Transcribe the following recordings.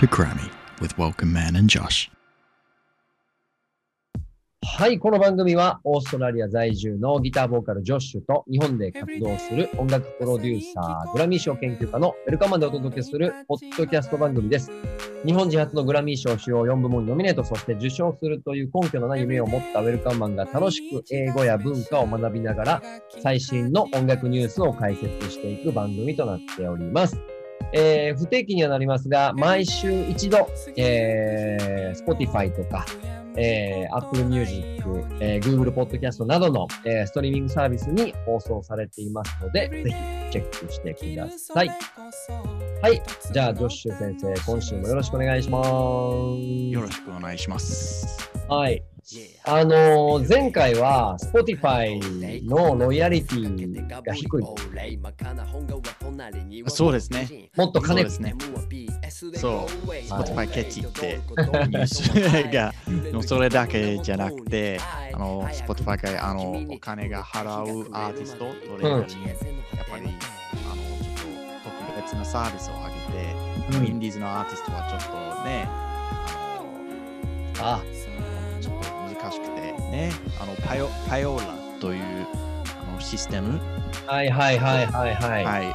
to Grammy with Welcome Man and Josh. はい、この番組はオーストラリア在住のギターボーカルジョッシュと日本で活動する音楽プロデューサー、グラミー賞研究家のウェルカマンでお届けするポッドキャスト番組です。日本人初のグラミー賞主要4部門にノミネート、そして受賞するという根拠のない夢を持ったウェルカマンが楽しく英語や文化を学びながら最新の音楽ニュースを解説していく番組となっております。不定期にはなりますが、毎週一度、Spotify とか、Apple Music、Google Podcast などの、ストリーミングサービスに放送されていますので、ぜひチェックしてください。はい。じゃあ、ジョッシュ先生、今週もよろしくお願いします。 よろしくお願いします。 はい。前回は Spotify のロイヤリティが低い。 そうですね。 もっと金ですね。そう、Spotify ケチってニュースがそれだけじゃなくて、Spotify がお金が払うアーティストどれかに、やっぱり特別なサービスを上げて、インディーズのアーティストはちょっとね、ちょっと難しくてね、パヨーラというシステム、 はい、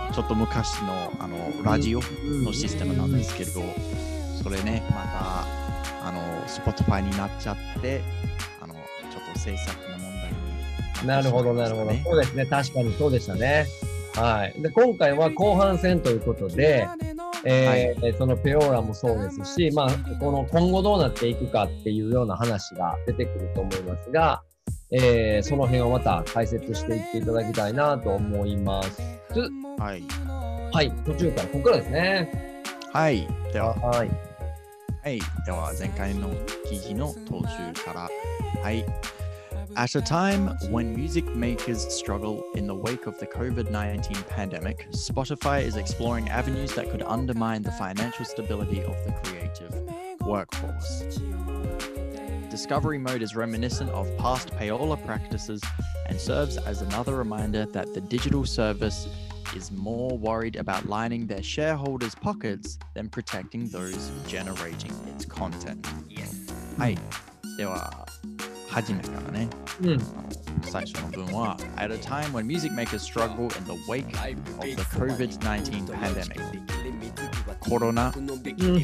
ちょっと昔のラジオのシステムなんですけど、それね、またSpotify になっちゃって、ちょっと制作の問題になるほど、そうですね、確かにそうでしたね。はい。で、今回は後半戦ということで、そのペオーラもそうですし、まあ、今後どうなっていくかっていうような話が出てくると思いますが、その辺をまた解説していっていただきたいなと思います。 はい。 はい、途中からここからですね。 はい。では、では前回の記事の途中から。はい。At a time when music makers struggle in the wake of the COVID-19 pandemic, Spotify is exploring avenues that could undermine the financial stability of the creative workforce. Discovery mode is reminiscent of past payola practices and serves as another reminder that the digital service is more worried about lining their shareholders' pockets than protecting those generating its content. はい。では、初めからね、最初の文は At a time when music makers struggle in the wake of the COVID-19 pandemic コロナの時期、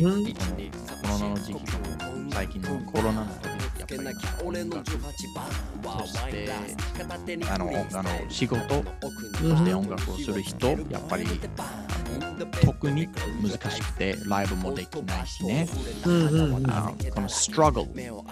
最近のコロナの時期、やっぱり音楽そして仕事そして音楽をする人、やっぱり特に難しくてライブもできないしね、このストラグル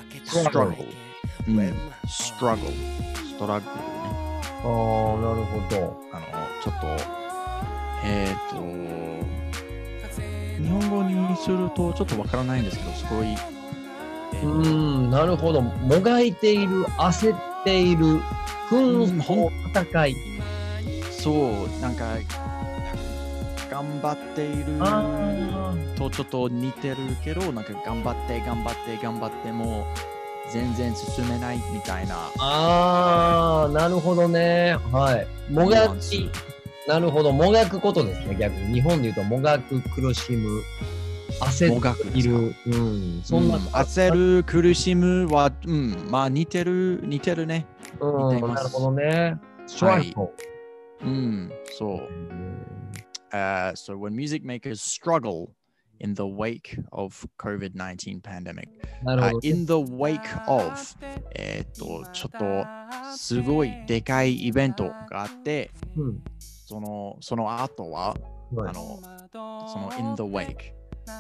ストラグルね。 なるほど。 ちょっと、日本語にするとちょっとわからないんですけど、すごい。 なるほど。もがいている、焦っている、紛争、戦い。 そう、なんか、頑張っているとちょっと似てるけど、なんか頑張っても、全然進めないみたいな。 なるほどね。はい。もがき。なるほど。もがくことですね。逆に。日本で言うと、もがく、苦しむ、焦っている。そんな。 焦る、苦しむは、まあ似てるね。似てます。 なるほどね。 はい。そう。So when music makers struggle in the wake of COVID-19 pandemic. In the wake of ちょっとすごいでかいイベントがあって、その後は、その in the wake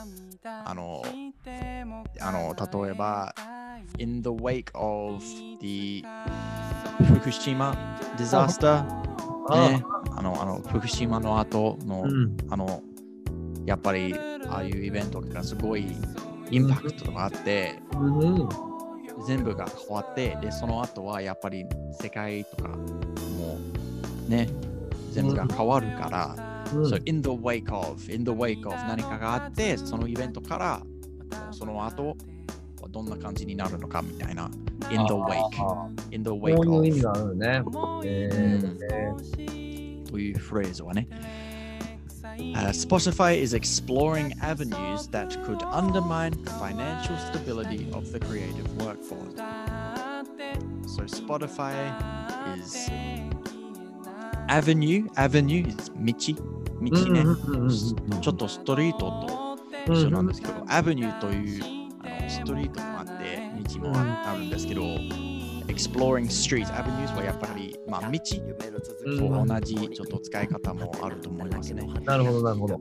例えば in the wake of the 福島 disaster ね、福島の後の、やっぱりああいうイベントがすごいインパクトがあって、全部が変わって、でその後はやっぱり世界とかもね、全部が変わるから、So in the wake of 何かがあって、そのイベントからその後はどんな感じになるのかみたいな。in the wake こういう意味があるね。 というフレーズはね。 Spotify is exploring avenues that could undermine the financial stability of the creative workforce. So Spotify is avenue is 道ね。ちょっとストリートと一緒なんですけど、アベニューというストリートもあって道もあるんですけど、exploring streets avenues はやっぱり道と同じちょっと使い方もあると思いますね。 なるほどなるほど。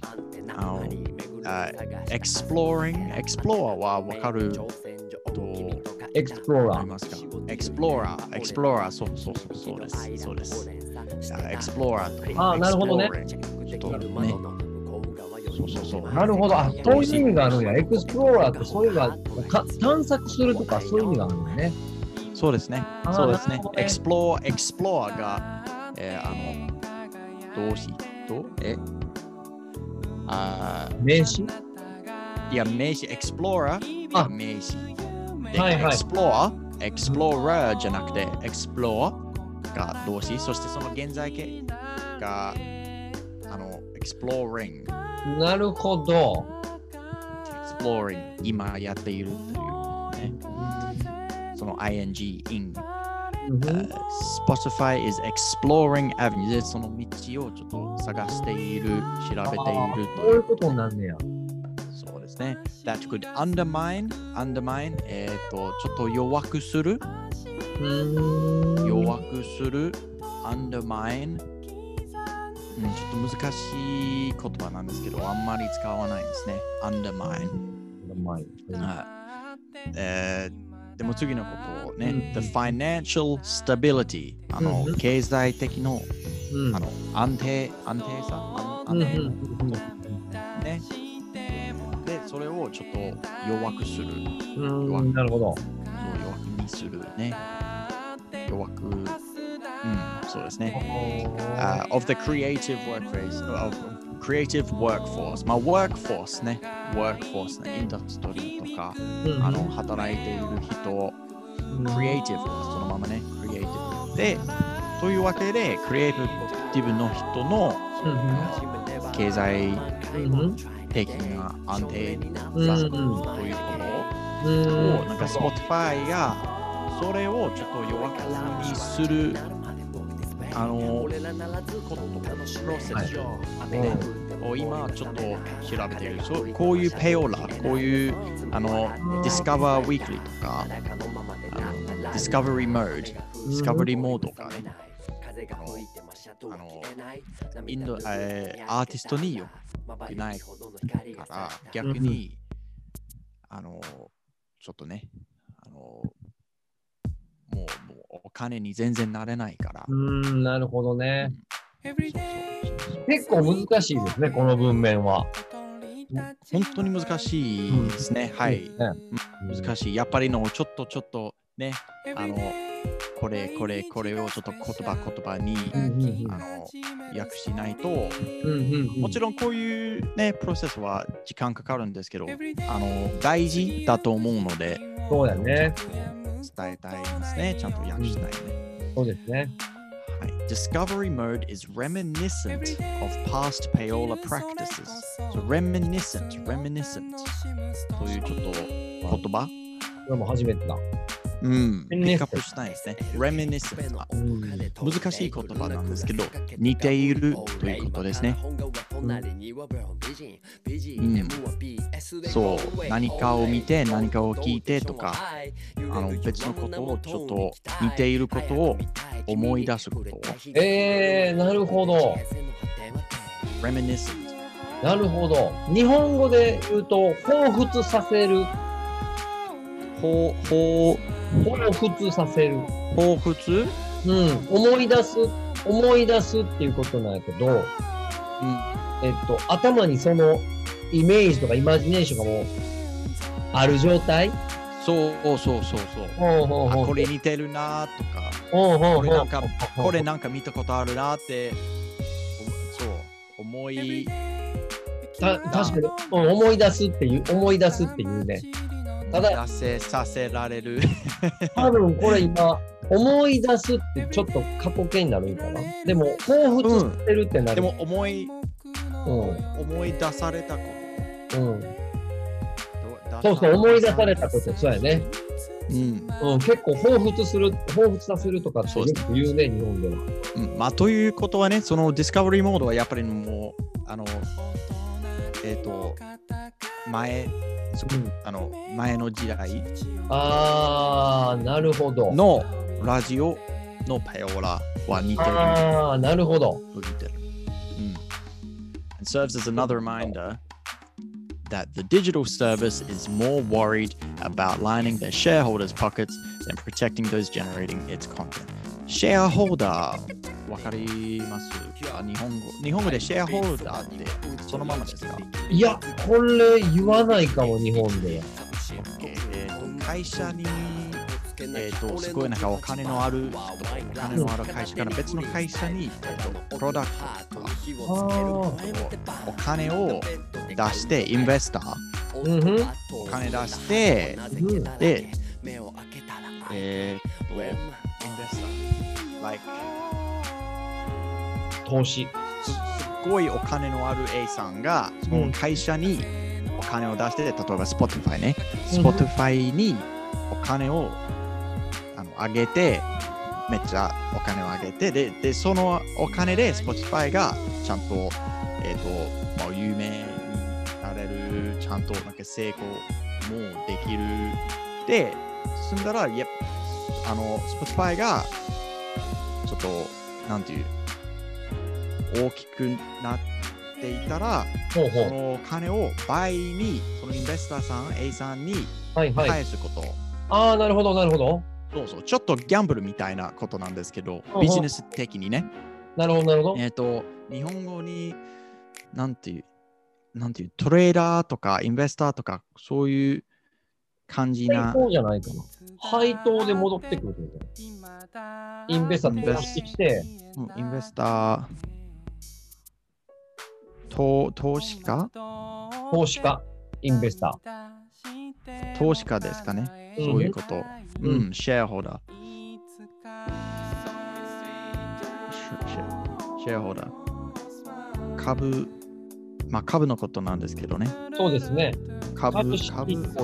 explorer はわかるとエクスプローラー。 ますか？explorer そうです。explorer となるほどね。 ちょっとね。そう。 なるほど。そういう意味があるんや。エクスプローラーってそういうのが探索するとかそういう意味があるんだね。 そうですね。エクスプローが、動詞と名詞？ いや、名詞、エクスプローラー名詞。 はいはい。 エクスプローラーじゃなくて、エクスプローが動詞、そしてその現在形がエクスプローリング。 なるほど。 exploring 今やっているというね。その ing Spotify is exploring avenues でその道をちょっと探している、調べているという。 そういうことになんねや。 そうですね。That could undermine ちょっと弱くする undermineちょっと難しい言葉なんですけど、あんまり使わないですね。undermine。でも次のことをね、the financial stability、経済的の、安定さ、ね。で、それをちょっと弱くする。 なるほど。 弱くにするね。弱く。そうですね。of the creative workforce。workforce ね。インダストリーとか、働いている人、creative そのままね、creative。で、というわけで、クリエイティブの人の経済的な安定さということを、なんか Spotify がそれをちょっと弱くにするプロセスを今ちょっと調べている。こういうペオラ、こういうDiscover Weekly とかDiscovery Mode、Discovery モードがね、アーティストによくないから逆にちょっとねもうお金に全然なれないから。 なるほどね。結構難しいですね、この文面は。 本当に難しいですね。はい。難しい。やっぱりちょっとね、これをちょっと言葉に訳しないと、もちろんこういうね、プロセスは時間かかるんですけど、大事だと思うので、 そうだね。 伝えたいですね。ちゃんと訳したいね。 そうですね。 はい。Discovery mode is reminiscent of past payola practices. So reminiscent というちょっと言葉。 これも初めてだ。 ピックアップしたいですね。reminiscent 難しい言葉なんですけど、似ているということですね。そう、何かを見て何かを聞いてとか、別のことをちょっと似ていることを思い出すことを。 なるほど。 reminiscent。 なるほど。日本語で言うと、彷彿させる。彷彿させる。 彷彿？ 思い出すっていうことなんやけど、頭にそのイメージとかイマジネーションがもうある状態？ そう。これ似てるなとか、これなんか見たことあるなって、そう思い。 確かに思い出すっていうね。たださせられる。 多分これ今思い出すってちょっと過去形になるんかな。でも彷彿してるってなる。 でも思い思い出されたこそうそう、思い出されたこと、そうやね。結構彷彿させるとかってよく言うね、日本では。 ということはね、そのディスカバリーモードはやっぱりもう、前の時代なるほど。 のラジオのパヨラは似てる。 なるほど。 It serves as another reminder that the digital service is more worried about lining their shareholders' pockets than protecting those generating its content. シェアホルダー、わかりますか？日本語でシェアホルダーってそのままですか？ いや、これ言わないかも、日本では。 会社に、すごいなんかお金のある会社から別の会社に、プロダクトとかお金を出して、インベスター、お金出して、で、インベスター、like、 投資。 すごいお金のある A さんが、その会社にお金を出して、例えば Spotify ね、Spotify にお金を上げて、めっちゃお金を上げて、でそのお金で Spotify がちゃんと、有名になれる、ちゃんとなんか成功もできる。で、進んだら、Spotify がちょっと、なんていう、大きくなっていたら、そのお金を倍に、そのインベスターさん、A さんに返すこと。 なるほど、なるほど。 そうそう、ちょっとギャンブルみたいなことなんですけど、ビジネス的にね。 なるほど、なるほど。日本語に、なんていう、トレーダーとかインベスターとか、そういう感じな。 配当じゃないかな。配当で戻ってくるってこと。インベスター投資して。 インベスター、投資家、 インベスター。投資家ですかね。そういうこと。シェアホルダー。シェアホルダー。株のことなんですけどね。 そうですね。 株主。ちょ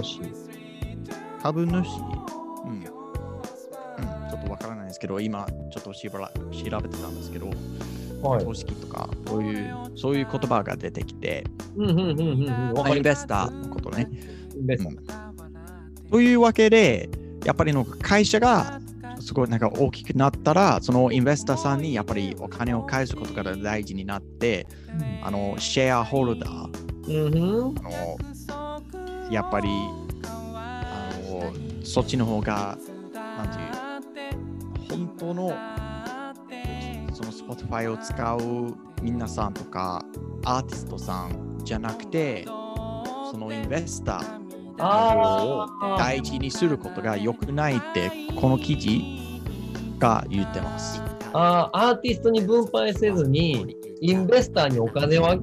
っとわからないですけど、今ちょっと調べてたんですけど、投資とかそういう言葉が出てきて、インベスターのことね。というわけで、やっぱりの会社がすごいなんか大きくなったら、そのインベスターさんにやっぱりお金を返すことが大事になって、シェアホルダー、やっぱりそっちの方が、なんていう、本当のその Spotify を使う皆さんとか、アーティストさんじゃなくて、そのインベスターの方を大事にすることが良くないって、この記事が言ってます。 アーティストに分配せずに、インベスターにお金を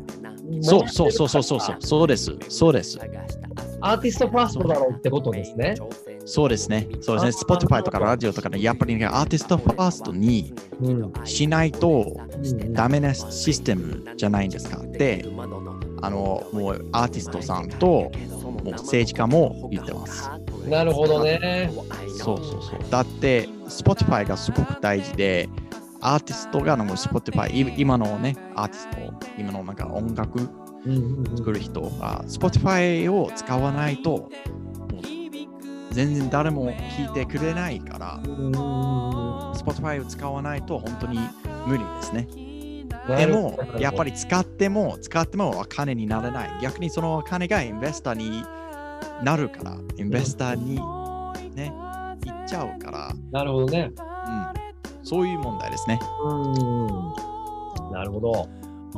そうです。アーティストファーストだろうってことですね。 そうですね。Spotify とかラジオとかね、やっぱり、アーティストファーストにしないとダメなシステムじゃないんですかって、もうアーティストさんともう政治家も言ってます。 なるほどね。 そう。だって、Spotify がすごく大事で、アーティストがSpotify、今のね、アーティスト、今のなんか音楽作る人が Spotify を使わないと、もう全然誰も聞いてくれないから、Spotify を使わないと本当に無理ですね。でも、やっぱり使ってもお金にならない。逆にそのお金がインベスターになるから、インベスターにね、行っちゃうから。 なるほどね。 そういう問題ですね。 なるほど。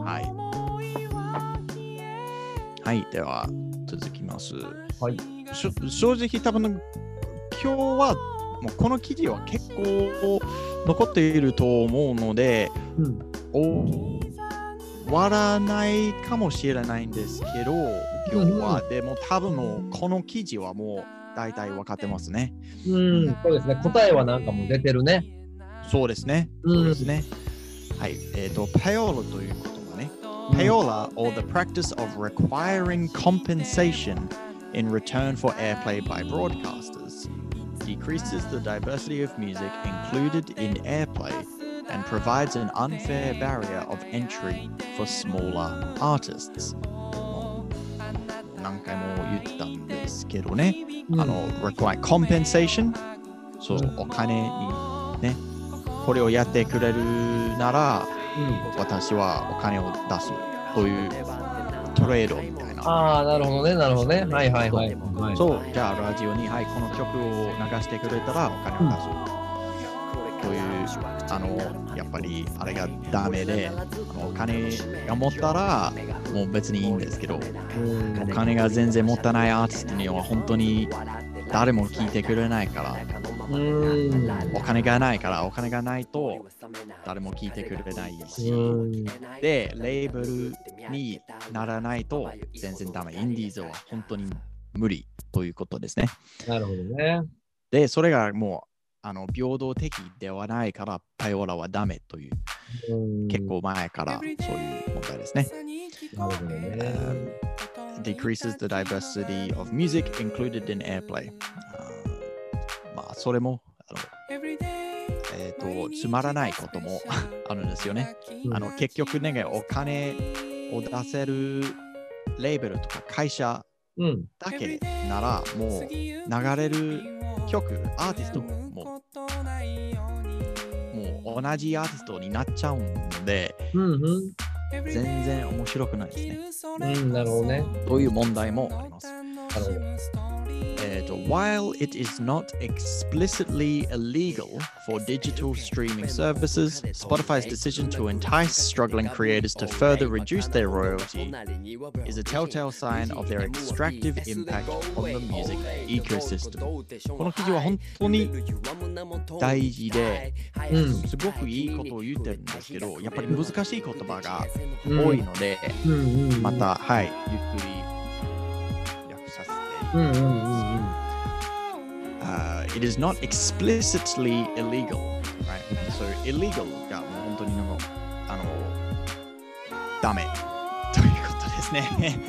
はい、では続きます。 はい。 正直多分今日はもうこの記事は結構残っていると思うので、終わらないかもしれないんですけど、今日は、でも多分もうこの記事はもう大体分かってますね。 そうですね。答えはなんかもう出てるね。 そうですね。はい。パヨーロということはね、 Payola, or the practice of requiring compensation in return for airplay by broadcasters, decreases the diversity of music included in airplay and provides an unfair barrier of entry for smaller artists. 何回も言ってたんですけどね、require compensation、そう、お金にね、これをやってくれるなら、私はお金を出すというトレードみたいな。 ああ、なるほどね、なるほどね。はいはいはい。 そう、じゃあラジオに、はい、この曲を流してくれたらお金を出す。という、やっぱりあれがダメで、お金が持ったらもう別にいいんですけど、お金が全然持たないアーティストには本当に誰も聞いてくれないから、お金がないから、お金がないと誰も聞いてくれないし、で、レーベルにならないと全然ダメ。インディーズは本当に無理ということですね。 なるほどね。 で、それがもう平等的ではないからパイオラはダメという、結構前からそういう問題ですね。 なるほどね。 decreases the diversity of music included in airplay。まあ、それもつまらないこともあるんですよね。結局ね、お金を出せるレーベルとか会社だけなら、もう流れる曲、アーティストも同じアーティストになっちゃうので、全然面白くないですね。 なるほどね。 そういう問題もあります。 なるほど。 While it is not explicitly illegal for digital streaming services, Spotify's decision to entice struggling creators to further reduce their royalty is a telltale sign of their extractive impact on the music ecosystem. この記事は本当に大事で、すごくいいことを言ってるんですけど、やっぱり難しい言葉が多いので、また、はい、ゆっくり訳させて。It is not explicitly illegal, right? So illegal がもう本当にダメということですね。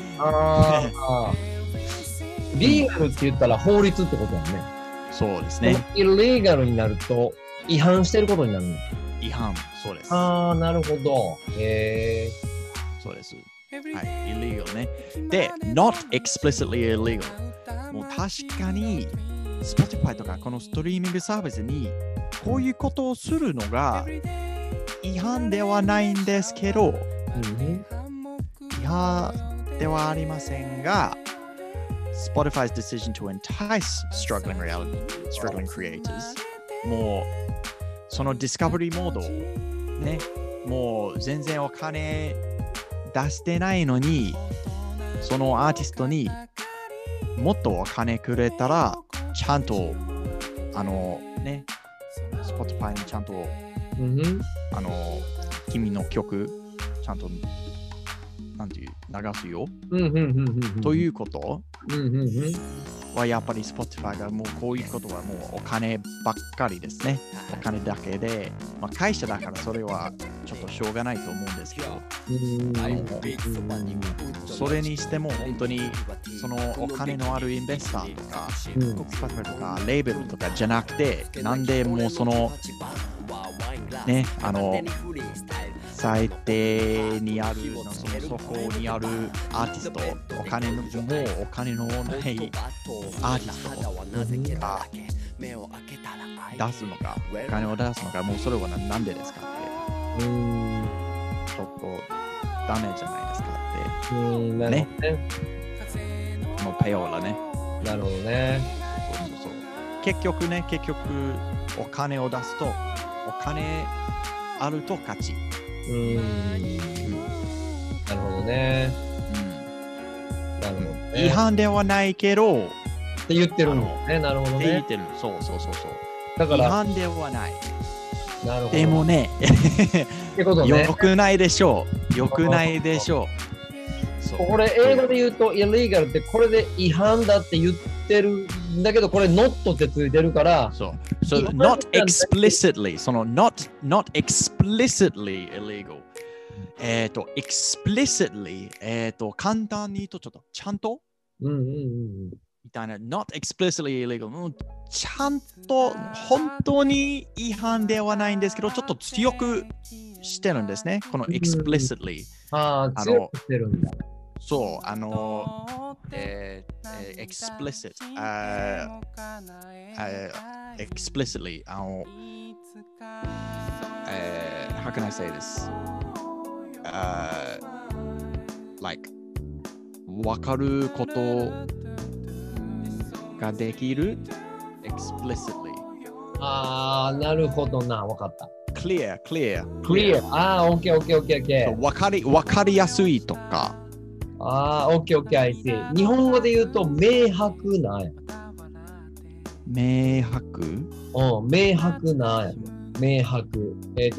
リーガルって言ったら法律ってことだよね。 そうですね。 イレガルになると違反してることになるの。 違反、そうです。 ああ、なるほど。へえ。 そうです。はい、illegal ね。で、not explicitly illegal。もう確かにSpotify とかこのストリーミングサービスにこういうことをするのが違反ではないんですけど、違反ではありませんが、Spotify's decision to entice struggling creators、もうそのディスカバリーモードね、もう全然お金出してないのに、そのアーティストにもっとお金くれたら、ちゃんとね、Spotify にちゃんと、君の曲ちゃんとなんていう流すよ、ということはやっぱり Spotify がもうこういうことはもうお金ばっかりですね。お金だけで、まあ、会社だからそれはちょっとしょうがないと思うんですけど、それにしても本当にそのお金のあるインベスターとか、Spotify とかレーベルとかじゃなくて、なんでもうそのね、最低にあるその底にあるアーティスト、お金のないアーティストが出すのか、お金を出すのか、もうそれはなんでですかって、ちょっとダメじゃないですかって、ね、もうペオラね。 なるほどね。 そう。結局お金を出すと、お金あると勝ち。 なるほどね。なるほどね。 違反ではないけどって言ってるんですね。なるほどね。って言ってる。そう。 だから違反ではない。 なるほど。 でもね、 ってことね。 よくないでしょう。よくないでしょう。 これ英語で言うと、illegal ってこれで違反だって言ってるんだけど、これ not ってついてるから。 そう。So not explicitly、その not explicitly illegal。 explicitly、簡単に言うとちょっとちゃんと、みたいな、not explicitly illegal、ちゃんと本当に違反ではないんですけど、ちょっと強くしてるんですね。この explicitly。 強くしてるんだ。 そう、explicit、explicitly、how can I say this?like 分かることができる explicitly。 なるほどな、分かった。 clear。 OK。 分かりやすいとか。 OK、I see。日本語で言うと、明白なや。 明白？ 明白なや。明白。明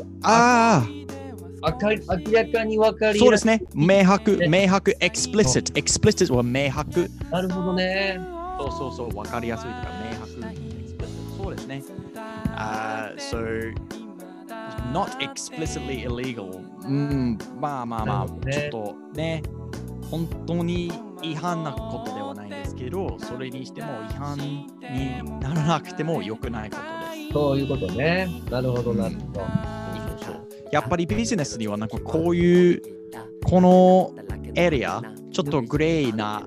らかに分かりやすい。 そうですね。明白、explicit は明白。 なるほどね。 そう、分かりやすいとか、明白。そうですね。So, not explicitly illegal。まあ、ちょっとね、本当に違反なことではないんですけど、それにしても違反にならなくても良くないことです。 そういうことね。なるほど。 そう。やっぱりビジネスにはなんかこういうこのエリアちょっとグレーな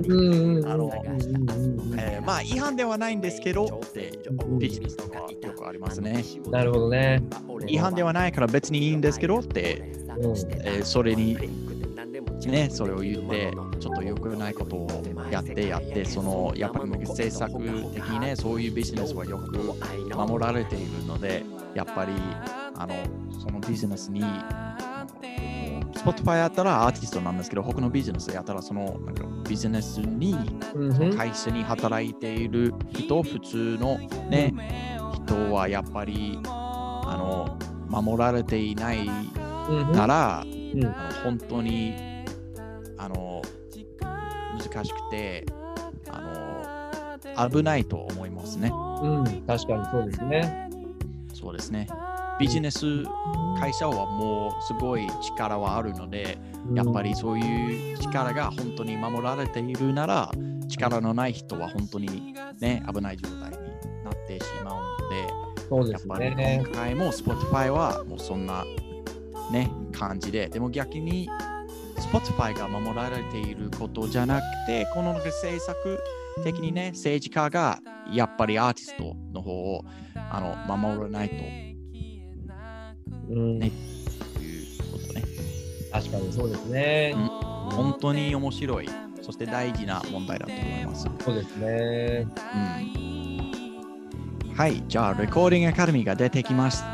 まあ違反ではないんですけどってビジネスとかよくありますね。 なるほどね。 違反ではないから別にいいんですけどって、それにね、それを言ってちょっと良くないことをやってそのやっぱり政策的にね、そういうビジネスはよく守られているので、やっぱりそのビジネスにSpotify やったらアーティストなんですけど、他のビジネスやったらそのなんかビジネスに、会社に働いている人、普通のね、人はやっぱり守られていないなら、本当に難しくて危ないと思いますね。 確かにそうですね。 そうですね。ビジネス会社はもうすごい力はあるので、やっぱりそういう力が本当に守られているなら、力のない人は本当にね、危ない状態になってしまうので、 そうですね、 やっぱり今回も Spotify はもうそんなね、感じで、でも逆に Spotify が守られていることじゃなくて、この政策的にね、政治家がやっぱりアーティストの方を守らないとね、いうことね。 確かにそうですね。 本当に面白い、そして大事な問題だと思います。 そうですね。 はい、じゃあレコーディングアカデミーが出てきました。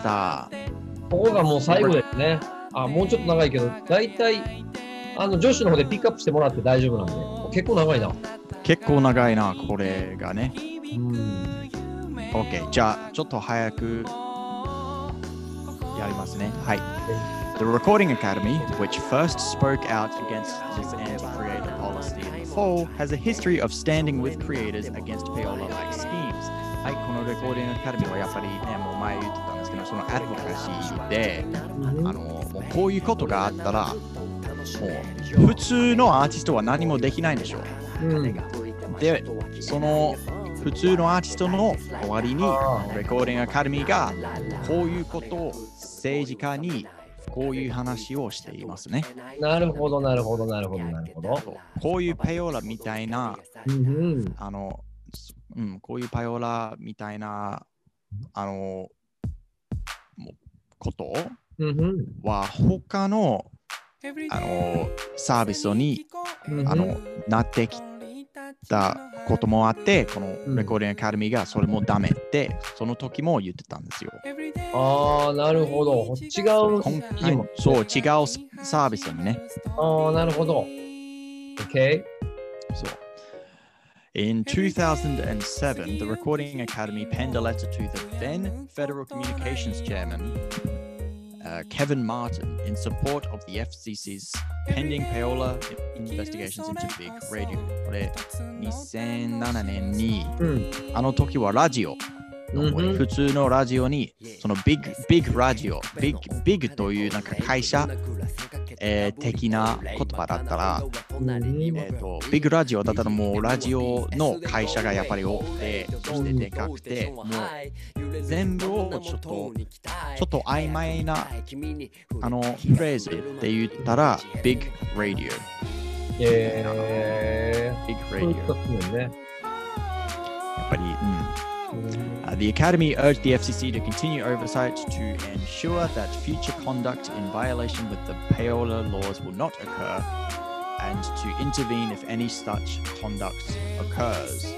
ここがもう最後ですね。もうちょっと長いけど、だいたいジョッシュの方でピックアップしてもらって大丈夫なんで、結構長いな。 結構長いな、これがね。OK、じゃあちょっと早くやりますね。はい。The Recording Academy, which first spoke out against this anti-creator policy in the fall, has a history of standing with creators against payola-like schemes. はい、このレコーディングアカデミーはやっぱりね、もう前言ってたんですけど、そのアドボカシーで、もうこういうことがあったら、もう普通のアーティストは何もできないんでしょう。で、その普通のアーティストの代わりに、レコーディングアカデミーがこういうことを政治家にこういう話をしていますね。 なるほど。 こういうペヨラみたいな、こういうパヨラみたいなことは他のサービスになってきたこともあって、このレコーディングアカデミーがそれもダメってその時も言ってたんですよ。 なるほど。違うそう、違うサービスにね。 なるほど。OK。 そう。In 2007, the Recording Academy penned a letter to the then Federal Communications Chairman, Kevin Martin, in support of the FCC's pending payola investigations into Big Radio. これ、2007年に、あの時はラジオ、普通のラジオに、そのビッグラジオ、ビッグというなんか会社的な言葉だったら、ビッグラジオだったらもうラジオの会社がやっぱり多くて、そしてでかくて、もう全部をちょっと曖昧なフレーズで言ったら、ビッグラディオ。ビッグラディオ。やっぱり、The Academy urged the FCC to continue oversight to ensure that future conduct in violation with the payola laws will not occur and to intervene if any such conduct occurs.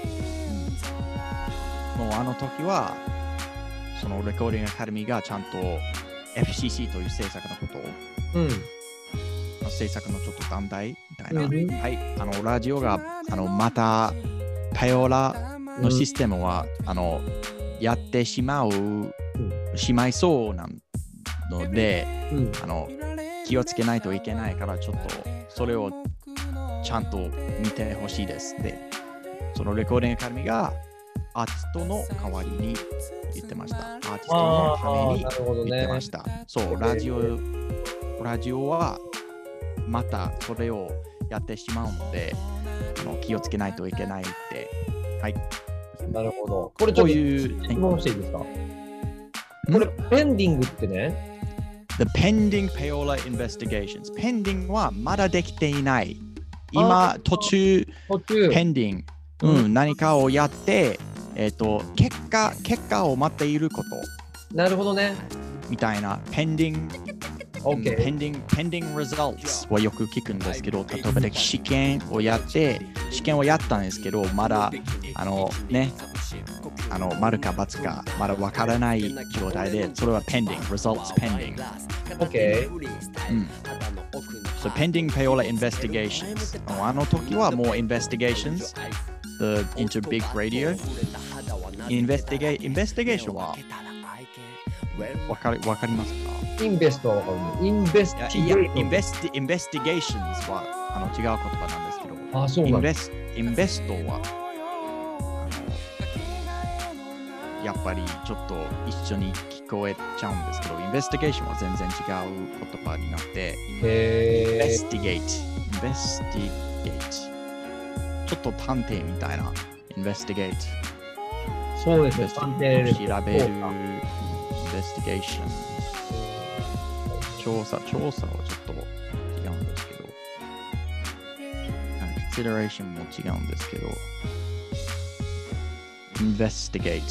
もうあの時はそのレコーディングアカデミーがちゃんと FCC という政策のことを、政策のちょっと団体みたいな、はい、ラジオがまたパヨラのシステムはやってしまいそうなので、気をつけないといけないからちょっとそれをちゃんと見てほしいですで、そのレコーディングアカデミーがアーティストの代わりに言ってました。アーティストのために言ってました。そう、ラジオはまたそれをやってしまうので、気をつけないといけないって。はい。 なるほど。これちょっと質問していいですか？これ、ペンディングってね。 The pending payola investigations。ペンディングはまだできていない。今、途中ペンディング、何かをやって、結果を待っていること。 なるほどね。 みたいな、ペンディング。pending results はよく聞くんですけど、例えば試験をやったんですけど、まだ丸か×かまだわからない状態で、それは results pending。 OK。 So pending payola investigations。あの時はもう investigations into big radio。investigation はわかりますか？ インベストはわかるね。インベスティゲーション。 investigations は違う言葉なんですけど、 そうなんだ。 インベストはやっぱりちょっと一緒に聞こえちゃうんですけど、インベスティゲーションは全然違う言葉になって、investigate ちょっと探偵みたいな investigate そうですね、探偵です。 調べる investigation 調査はちょっと違うんですけど、consideration も違うんですけど、investigate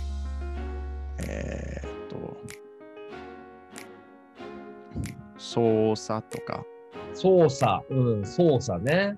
捜査とか。 捜査ね。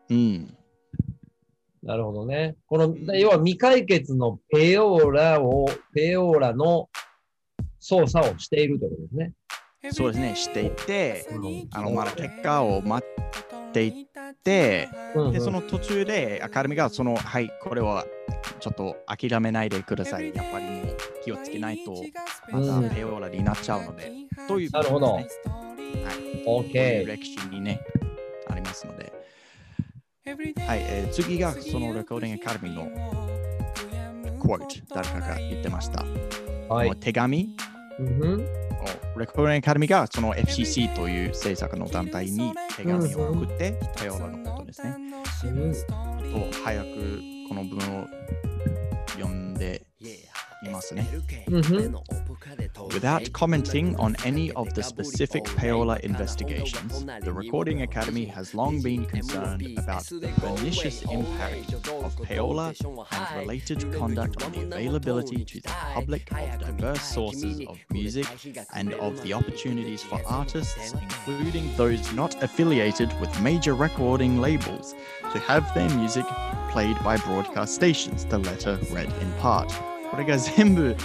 なるほどね。この、要は未解決のペオーラの捜査をしているということですね。 そうですね、していて、まだ結果を待っていて、で、その途中でアカデミーがはい、これはちょっと諦めないでください。やっぱりもう気をつけないと、またペオーラになっちゃうので、ということですね。なるほど。はい。 OK。 歴史にね、ありますので。はい、次がそのレコーディングアカデミーのquote、誰かが言ってました。はい、手紙、レコーディングアカデミーがその FCC という政策の団体に手紙を送って、ペオーラのことですね。早くこの文を読んでいますね。Without commenting on any of the specific payola investigations, the Recording Academy has long been concerned about the pernicious impact of payola and related conduct on the availability to the public of diverse sources of music and of the opportunities for artists, including those not affiliated with major recording labels, to have their music played by broadcast stations, the letter read in part. これが全部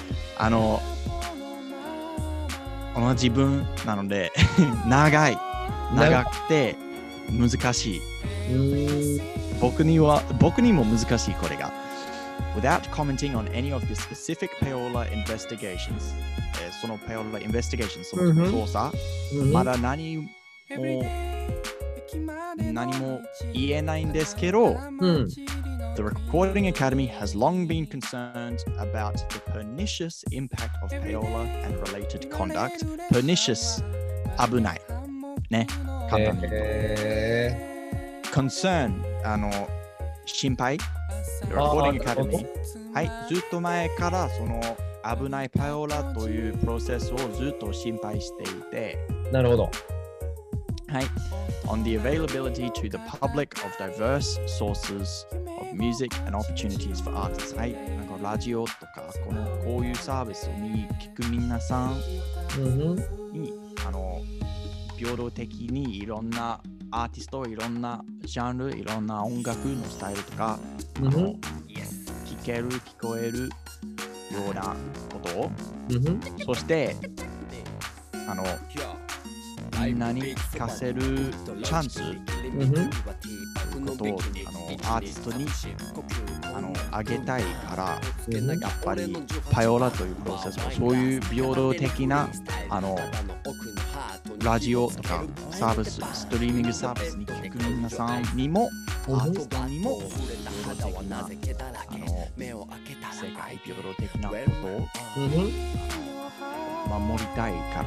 同じ文なので長くて難しい。僕にも難しいこれが。Without commenting on any of the specific payola investigations、その payola investigations、その捜査、まだ何も言えないんですけど、The Recording Academy has long been concerned about the pernicious impact of payola and related conduct. Pernicious 危ない。ね。 簡単に言うと。concern、心配。Recording Academy。はい、ずっと前からその危ないパイオラというプロセスをずっと心配していて。 なるほど。 はい。On the availability to the public of diverse sources of music and opportunities for artists. はい。なんかラジオとか、こういうサービスに聞く皆さんに、平等的にいろんなアーティスト、いろんなジャンル、いろんな音楽のスタイルとか、聞ける、聞こえるようなことを、そして、みんなに聞かせるチャンスということをアーティストにあげたいから、やっぱりパイオラというプロセスをそういう平等的なラジオとかサービス、ストリーミングサービスに聞く皆さんにもアーティストにも平等的な世界平等的なことを守りたいから、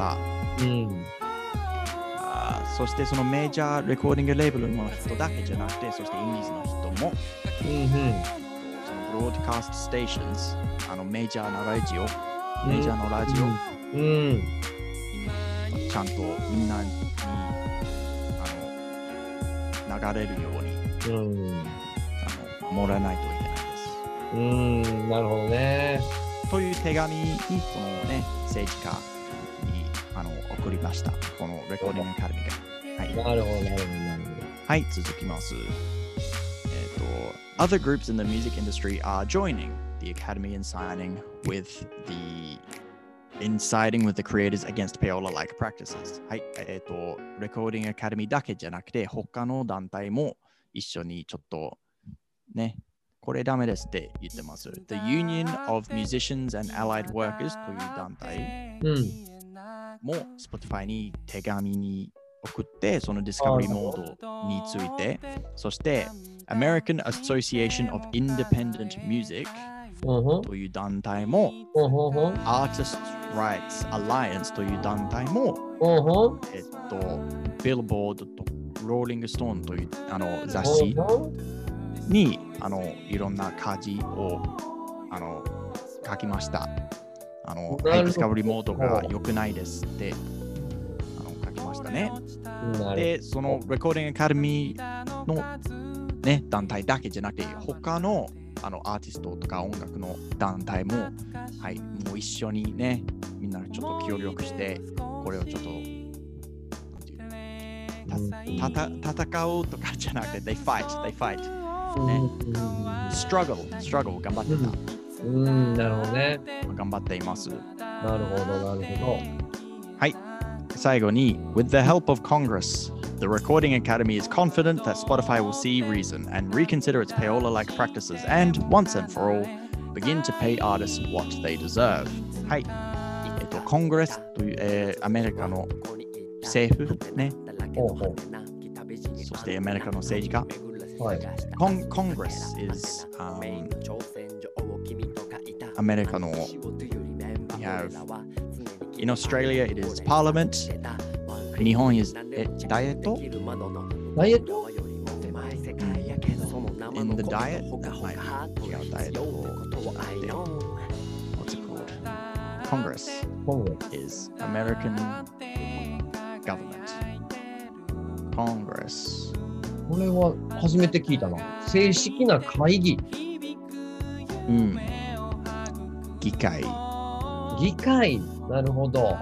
そしてそのメジャーレコーディングレーベルの人だけじゃなくて、そしてインディーズの人も、そのブロードキャストステーションズ、メジャーなラジオ、メジャーのラジオ、ちゃんとみんなに流れるように、守らないといけないです。 なるほどね。 という手紙にそのね政治家に送りました。このレコーディングアカデミーが。はい。 なるほど、なるほど。 はい、続きます。Other groups in the music industry are joining the Academy in siding with the creators against payola-like practices. はい、レコーディングアカデミーだけじゃなくて、他の団体も一緒にちょっとね、これダメですって言ってます。The Union of Musicians and Allied Workers という団体も Spotify に手紙に送って、そのディスカバリーモードについて、そして American Association of Independent Music という団体も、Artist Rights Alliance という団体も、Billboard と Rolling Stone という雑誌にいろんな記事を書きました。ディスカバリーモードが良くないですって書きましたね。で、そのレコーディングアカデミーの、ね、団体だけじゃなくて、他のアーティストとか音楽の団体も、はい、もう一緒にね、みんなちょっと協力して、これをちょっと戦うとかじゃなくて、they fight、ね、struggle 頑張ってた。 なるほどね。 頑張っています。 なるほど、なるほど。 はい。最後に、with the help of Congress, the Recording Academy is confident that Spotify will see reason and reconsider its payola-like practices and, once and for all, begin to pay artists what they deserve. はい。コングレスという、アメリカの政府ね。そしてアメリカの政治家。 はい。 Congress is America no we have in Australia it is Parliament. Nihon is Diet? Diet? In the diet? Diet. What's it called? Congress is American government. Congress. これは初めて聞いたな。正式な会議。 議会。 なるほど。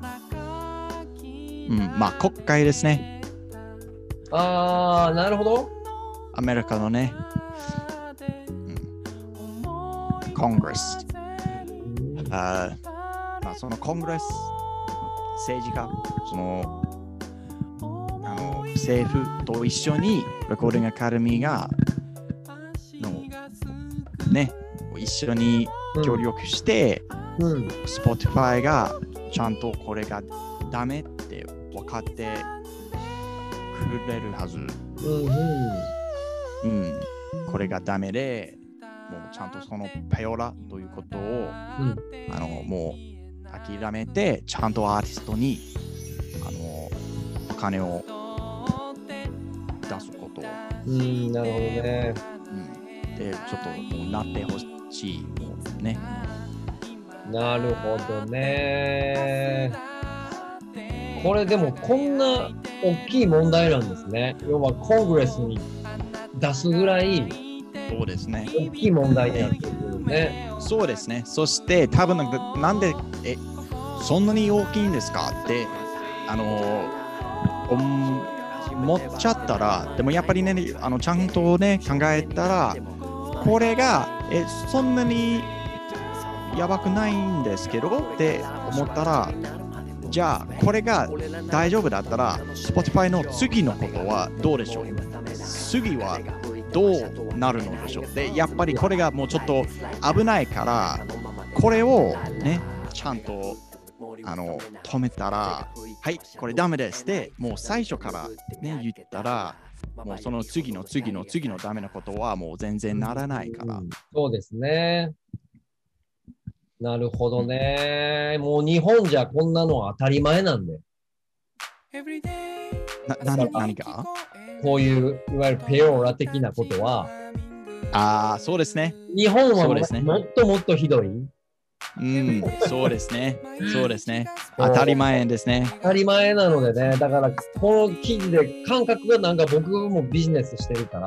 まあ国会ですね。 なるほど。 アメリカのね。コングレス。まあそのコングレス政治家、その政府と一緒にレコーディングアカデミーがね、一緒に協力して、Spotify がちゃんとこれがダメって分かってくれるはず。これがダメで、もうちゃんとそのペオラということを、もう諦めて、ちゃんとアーティストにお金をと。 なるほどね。 で、ちょっともうなってほしい。もうね。 なるほどね。これでもこんな大きい問題なんですね。要はコングレスに出すぐらいそうですね。 大きい問題になってくるね。 そうですね。そして多分なんでそんなに大きいんですかって思っちゃったら、でもやっぱりねちゃんとね考えたら、これがそんなにやばくないんですけどって思ったら、じゃあこれが大丈夫だったら Spotify の次のことはどうでしょう。次はどうなるのでしょう。でやっぱりこれがもうちょっと危ないから、これをねちゃんと止めたら、はいこれダメですってもう最初からね言ったら、もうその次のダメなことはもう全然ならないから。 そうですね。なるほどね。もう日本じゃこんなのは当たり前なんで。 何かこういういわゆるペオーラ的なことは、 そうですね。 日本はそうですね。 もっともっとひどい。 そうですね。そうですね。当たり前ですね。 当たり前なのでね。だからこの記事で感覚がなんか僕もビジネスしてるから、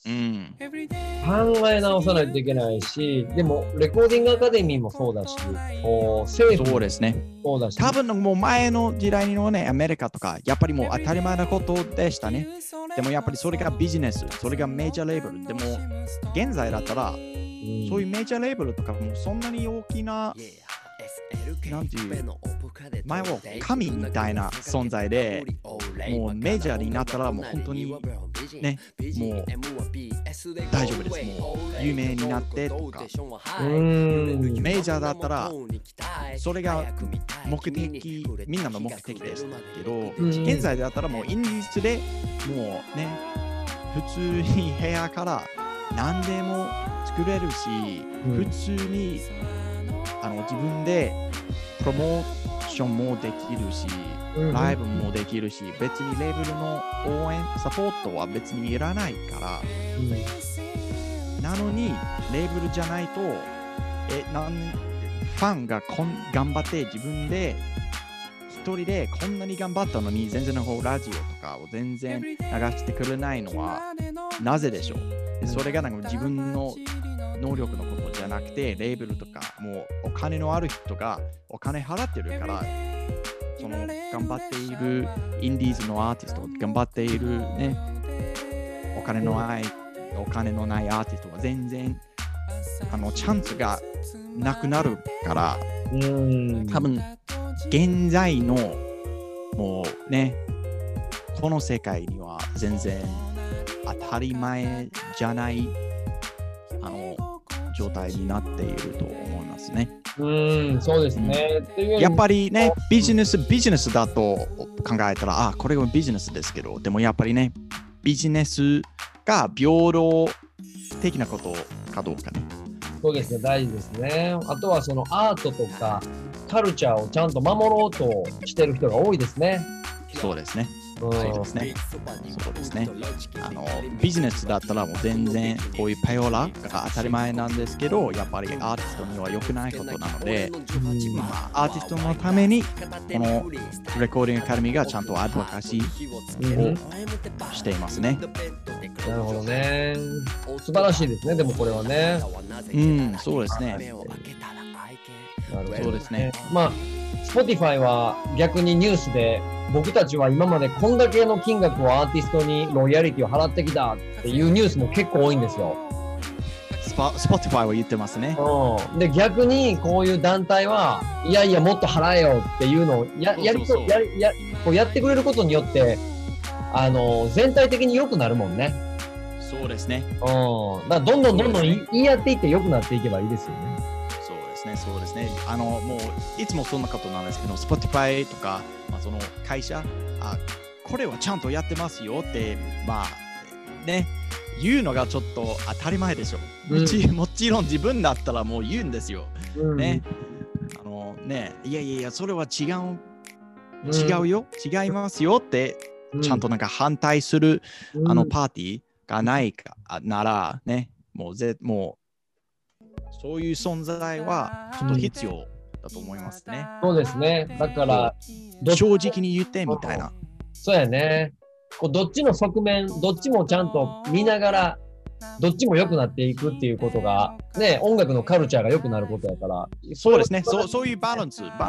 考え直さないといけないし、でもレコーディングアカデミーもそうだし、政府もそうだし、 多分もう前の時代のね、アメリカとか、やっぱりもう当たり前なことでしたね。でもやっぱりそれがビジネス、それがメジャーレーベル。でも現在だったら、そういうメジャーレーベルとかもそんなに大きな、なんていう、前は神みたいな存在で、もうメジャーになったらもう本当にね、もう大丈夫です。もう有名になってとか、メジャーだったらそれが目的、みんなの目的ですけど、現在だったらもうインディーズでもうね、普通に部屋から何でも作れるし、普通に自分でプロモーションもできるし、ライブもできるし、別にレーベルの応援、サポートは別にいらないから、なのに、レーベルじゃないと、ファンが頑張って自分で一人でこんなに頑張ったのに、全然ラジオとかを全然流してくれないのはなぜでしょう。それがなんか自分の能力のことじゃなくて、レーベルとかもうお金のある人がお金払ってるから、その頑張っているインディーズのアーティスト、頑張っているね、お金のないアーティストは全然チャンスがなくなるから、多分現在のもうね、この世界には全然当たり前じゃない状態になっていると思いますね。 そうですね。 やっぱりね、ビジネスだと考えたら、これはビジネスですけど、でもやっぱりね、ビジネスが平等的なことかどうかね。 そうですね、大事ですね。あとはそのアートとかカルチャーをちゃんと守ろうとしてる人が多いですね。 そうですね。そうですね。そうですね。ビジネスだったらもう全然こういうペオラが当たり前なんですけど、やっぱりアーティストには良くないことなので、アーティストのためにこのレコーディングアカデミーがちゃんとアドボカシーをしていますね。 なるほどね。素晴らしいですね、でもこれはね。 そうですね。そうですね。 Spotify は逆にニュースで、僕たちは今までこんだけの金額をアーティストにロイヤリティを払ってきたっていうニュースも結構多いんですよ。 Spotify は言ってますね。 で、逆にこういう団体は、いやいやもっと払えよっていうのをやってくれることによって、全体的に良くなるもんね。 そうですね。 だからどんどん言い合っていって良くなっていけばいいですよね。 そうですね。もういつもそんなことなんですけど、Spotify とか、その会社、これはちゃんとやってますよって、ね、言うのがちょっと当たり前でしょ。もちろん自分だったらもう言うんですよ。ね。いや、それは違うよ、違いますよってちゃんとなんか反対する、パーティーがないかならね、もうそういう存在はちょっと必要だと思いますね。 そうですね。だから、 正直に言ってみたいな。 そうやね。どっちの側面、どっちもちゃんと見ながら、どっちも良くなっていくっていうことが、ね、音楽のカルチャーが良くなることやから。 そうですね。そういうバランスがね、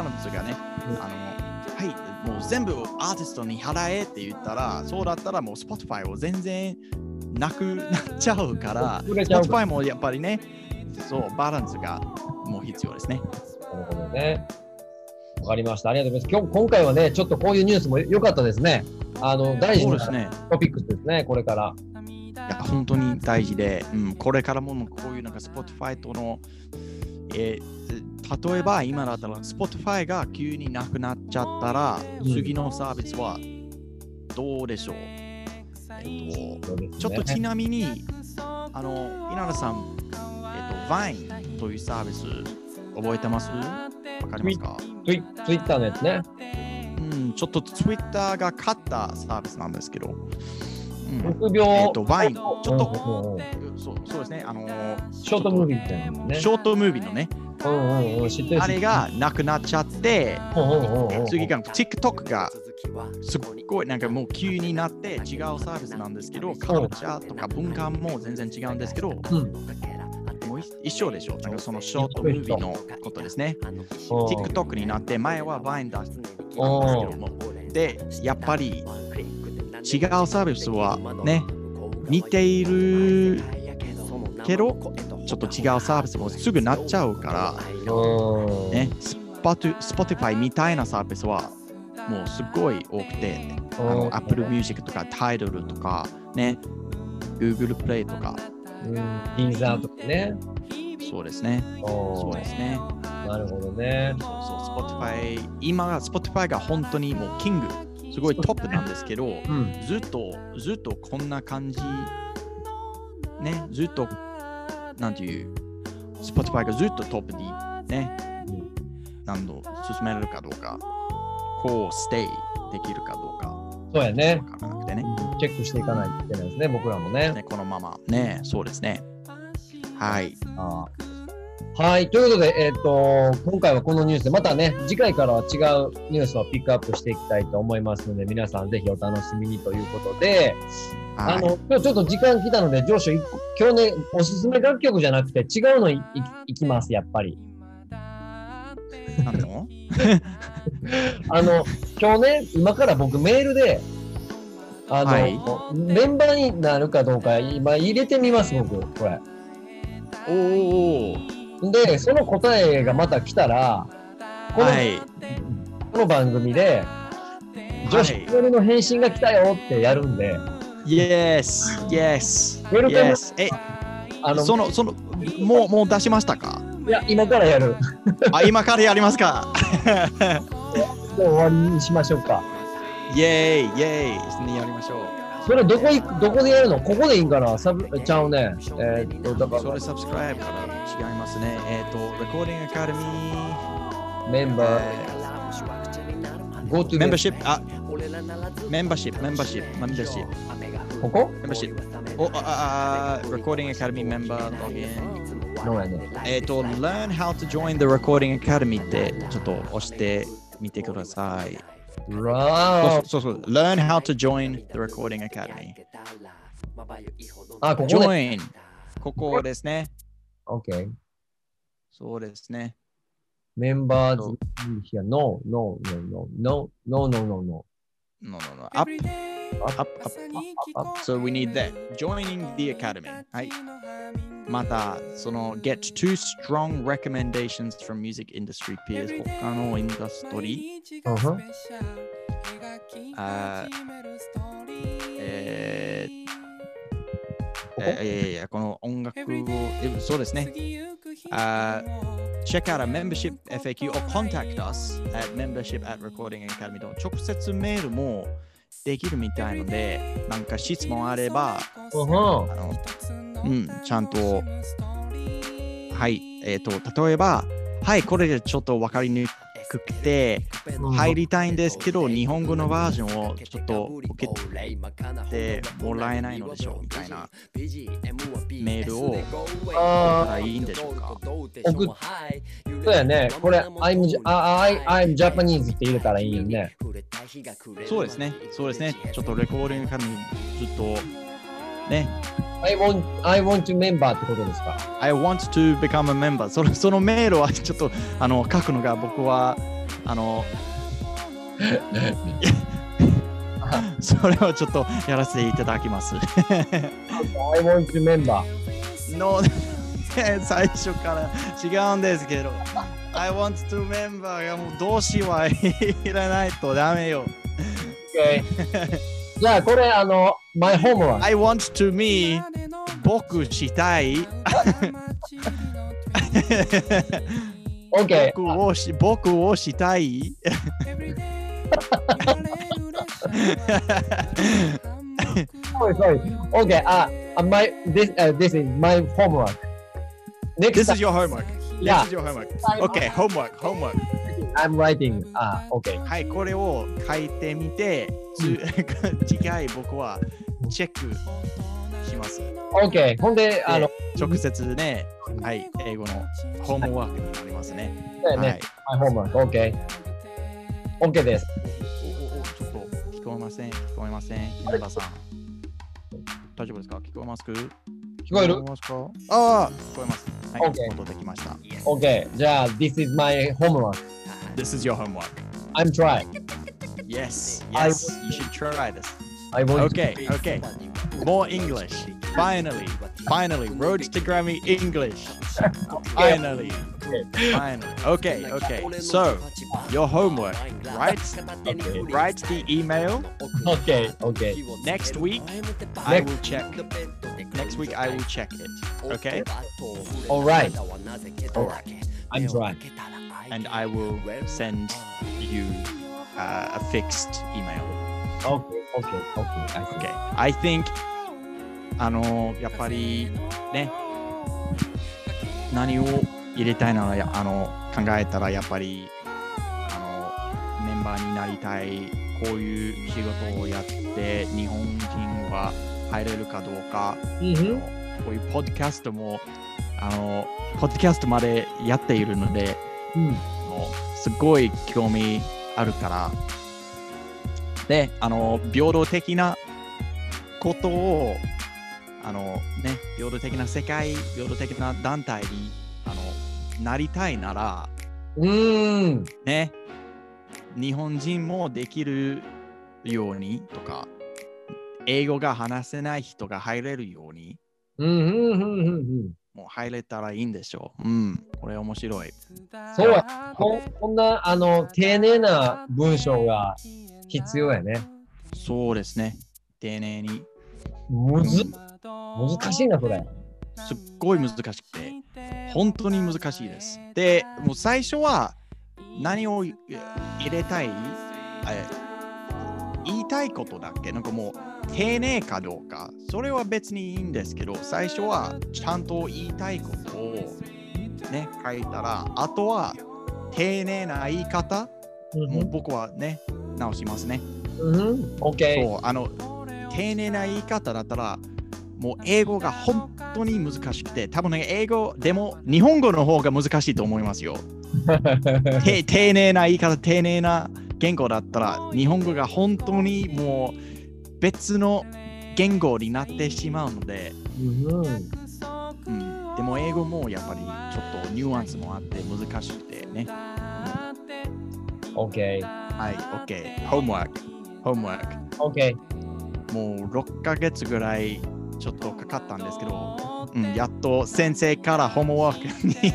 はい、もう全部アーティストに払えって言ったら、そうだったらもう Spotify を全然なくなっちゃうから、Spotify もやっぱりね、そう、バランスがもう必要ですね。 なるほどね。わかりました。ありがとうございます。今回はね、ちょっとこういうニュースも良かったですね。大事なトピックスですね、これから。 いや、本当に大事で、これからもこういうなんか Spotify との、例えば今だったら Spotify が急になくなっちゃったら、次のサービスはどうでしょう、ちょっとちなみに、稲田さん、Vine というサービス覚えてます？わかりますか？ Twitter のやつね。 ちょっと Twitter が買ったサービスなんですけど、 6秒、 Vine、ちょっと、そうですね、 ショートムービーみたいなのね。 ショートムービーのね、あれがなくなっちゃって、次が TikTok がすっごいなんかもう急になって違うサービスなんですけど、カルチャーとか文化も全然違うんですけど、もう一緒でしょ。なんかそのショートムービーのことですね。TikTok になって前は Vine 出してたんですけども、で、やっぱり違うサービスはね、似ているけど、ちょっと違うサービスもすぐなっちゃうから、ね、Spotify みたいなサービスはもうすごい多くて、Apple Music とか Tidal とか、ね、Google Play とか、 Deezer とかね。 そうですね。そうですね。 なるほどね。 Spotify、今が Spotify が本当にもうキング、すごいトップなんですけど、ずっとこんな感じ、ね、ずっと、なんていう、Spotify がずっとトップにね、何度進められるかどうか、こう、ステイできるかどうか。 そうやね。 わからなくてね。 チェックしていかないといけないですね、僕らもね。 このままね、そうですね。はい。 はい。ということで、今回はこのニュースで、またね、次回からは違うニュースをピックアップしていきたいと思いますので、皆さんぜひお楽しみにということで、今日ちょっと時間来たので、上司、今日ね、おすすめ楽曲じゃなくて違うのいきます、やっぱり。今日ね、今から僕メールで、メンバーになるかどうか今入れてみます、僕、これ。で、その答えがまた来たら、この番組で、女子一人の返信が来たよってやるんで。 Yes. もう出しましたか？ いや、今からやる。 今からやりますか？ もう終わりにしましょうか。 イェイやりましょう。 それどこでやるの？ここでいいんかな？ちゃうね。 だからそれサブスクライブから違いますね。Recording Academy メンバー。 Go to membership。membership。ここ ？membership。Recording Academy member login。 のやね。 Learn how to join the Recording Academy ってちょっと押してみてください。そう。Learn how to join the Recording Academy。 ここね。 Join。ここですね。 OK。 そうですね。 メンバーズ。No. Up. So we need that. Joining the Academy. はい。また、get two strong recommendations from music industry peers 他のインダストリーこの音楽をそうですねcheck out a membership FAQ or contact us at membership at recording academy と直接メールもできるみたいのでなんか質問あればちゃんとはい例えばはい、これでちょっと分かりにくくて、入りたいんですけど、日本語のバージョンをちょっと受けてもらえないのでしょうみたいなメールを送ったらいいんでしょうか。 そうやね。これ、I'm Japanese って入れたらいいよね。 そうですね。そうですね。ちょっとレコーディングからずっとね。 I want to member ってことですか？ I want to become a member。そのメールはちょっと書くのが僕はそれをちょっとやらせていただきます。 I want to member。 の最初から違うんですけど、I want to member がもう動詞は入れないとダメよ。 Okay. じゃあこれmy homework。 I want to me 僕したい。 OK。 僕をしたい。 Sorry. Okay. This is my homework. This is your homework. Yeah. This is your homework. Okay, homework. I'm writing. Okay. はい、これを書いてみて、次回僕はチェックします。 OK。ほんで、 直接ね、はい、英語のホームワークになりますね。 そうやね。My homework. OK。OK です。 ちょっと聞こえません。稲田さん。大丈夫ですか？聞こえますか？ 聞こえる？ ああ、聞こえます。はい、 OK。 戻ってきました。 OK。じゃあ、This is my homework. This is your homework. I'm trying. Yes, you should try this. Okay. More English. Finally. Road to Grammy English. Finally. Okay. So, your homework. Write the email. Okay. Next week, I will check. Next week, I will check it. Okay? All right. I'm trying. And I will send you a fixed email. Okay. I think やっぱりね、何を入れたいなら考えたらやっぱりメンバーになりたい、こういう仕事をやって日本人は入れるかどうか、こういうポッドキャストもポッドキャストまでやっているので、もうすごい興味あるからで、平等的なことを平等的な世界、平等的な団体になりたいなら、ね、日本人もできるようにとか、英語が話せない人が入れるように、もう入れたらいいんでしょう。これ面白い。 そうや。こんな丁寧な文章が必要やね。 そうですね。丁寧に。 難しいな、これ。 すっごい難しくて、本当に難しいです。で、もう最初は何を入れたい、言いたいことだっけ、なんかもう丁寧かどうか、それは別にいいんですけど、最初はちゃんと言いたいことをね、書いたら、あとは丁寧な言い方、もう僕はね、直しますね。 OK。 そう、丁寧な言い方だったら、もう英語が本当に難しくて、多分ね、英語でも日本語の方が難しいと思いますよ。丁寧な言い方、丁寧な言語だったら、日本語が本当にもう別の言語になってしまうので、でも英語もやっぱりちょっとニュアンスもあって難しくてね。 OK。 はい、OK。Homework。 OK。 もう6ヶ月ぐらいちょっとかかったんですけど、やっと先生からホームワークに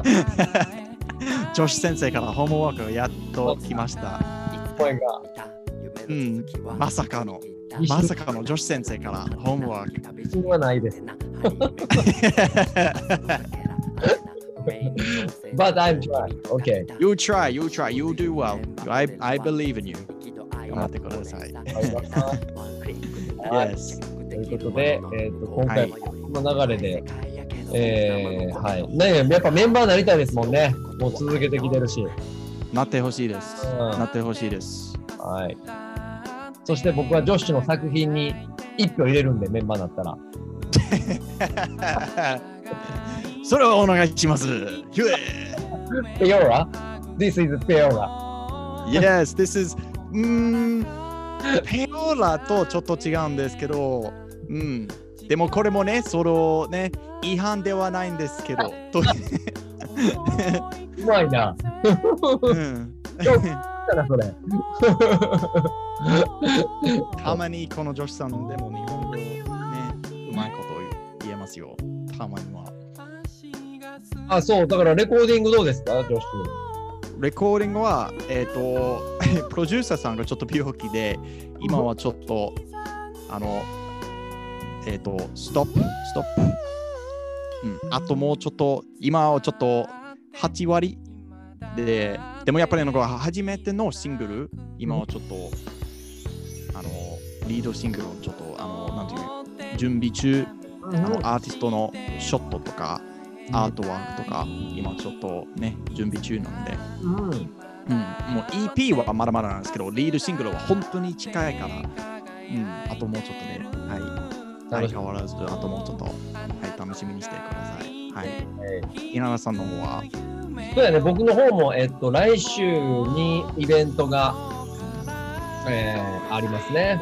女子先生からホームワークがやっと来ました。 声が。 まさかの女子先生からホームワーク。 自信はないです。But I'm trying. Okay. You try. You do well. I believe in you. 頑張ってください。 Yes. ということで、今回この流れではい。ね、やっぱメンバーになりたいですもんね。もう続けてきてるし。 なってほしいです。なってほしいです。 はい。そして僕はジョッシュの作品に1票入れるんで、メンバーになったら。それをお願いします。 Peora? This is Peora. Yes, this is ペオラとちょっと違うんですけど、でもこれもね、そのね、違反ではないんですけど。 うまいな。それたまにこの女子さんでも日本語ね、うまいこと言えますよ。たまには。 あ、そう、だからレコーディングどうですか、女子？ レコーディングは、プロデューサーさんがちょっと病気で、今はちょっと、ストップ。あともうちょっと、今はちょっと8割で、でもやっぱり初めてのシングル、今はちょっと、リードシングルをちょっと、なんていう、準備中、アーティストのショットとか、アートワークとか、今ちょっとね、準備中なんで、もう EP はまだまだなんですけど、リードシングルは本当に近いから、あともうちょっとで、相変わらず、あともうちょっと、楽しみにしてください。はい。稲田さんの方は？ そうやね、僕の方も、来週にイベントが、ありますね。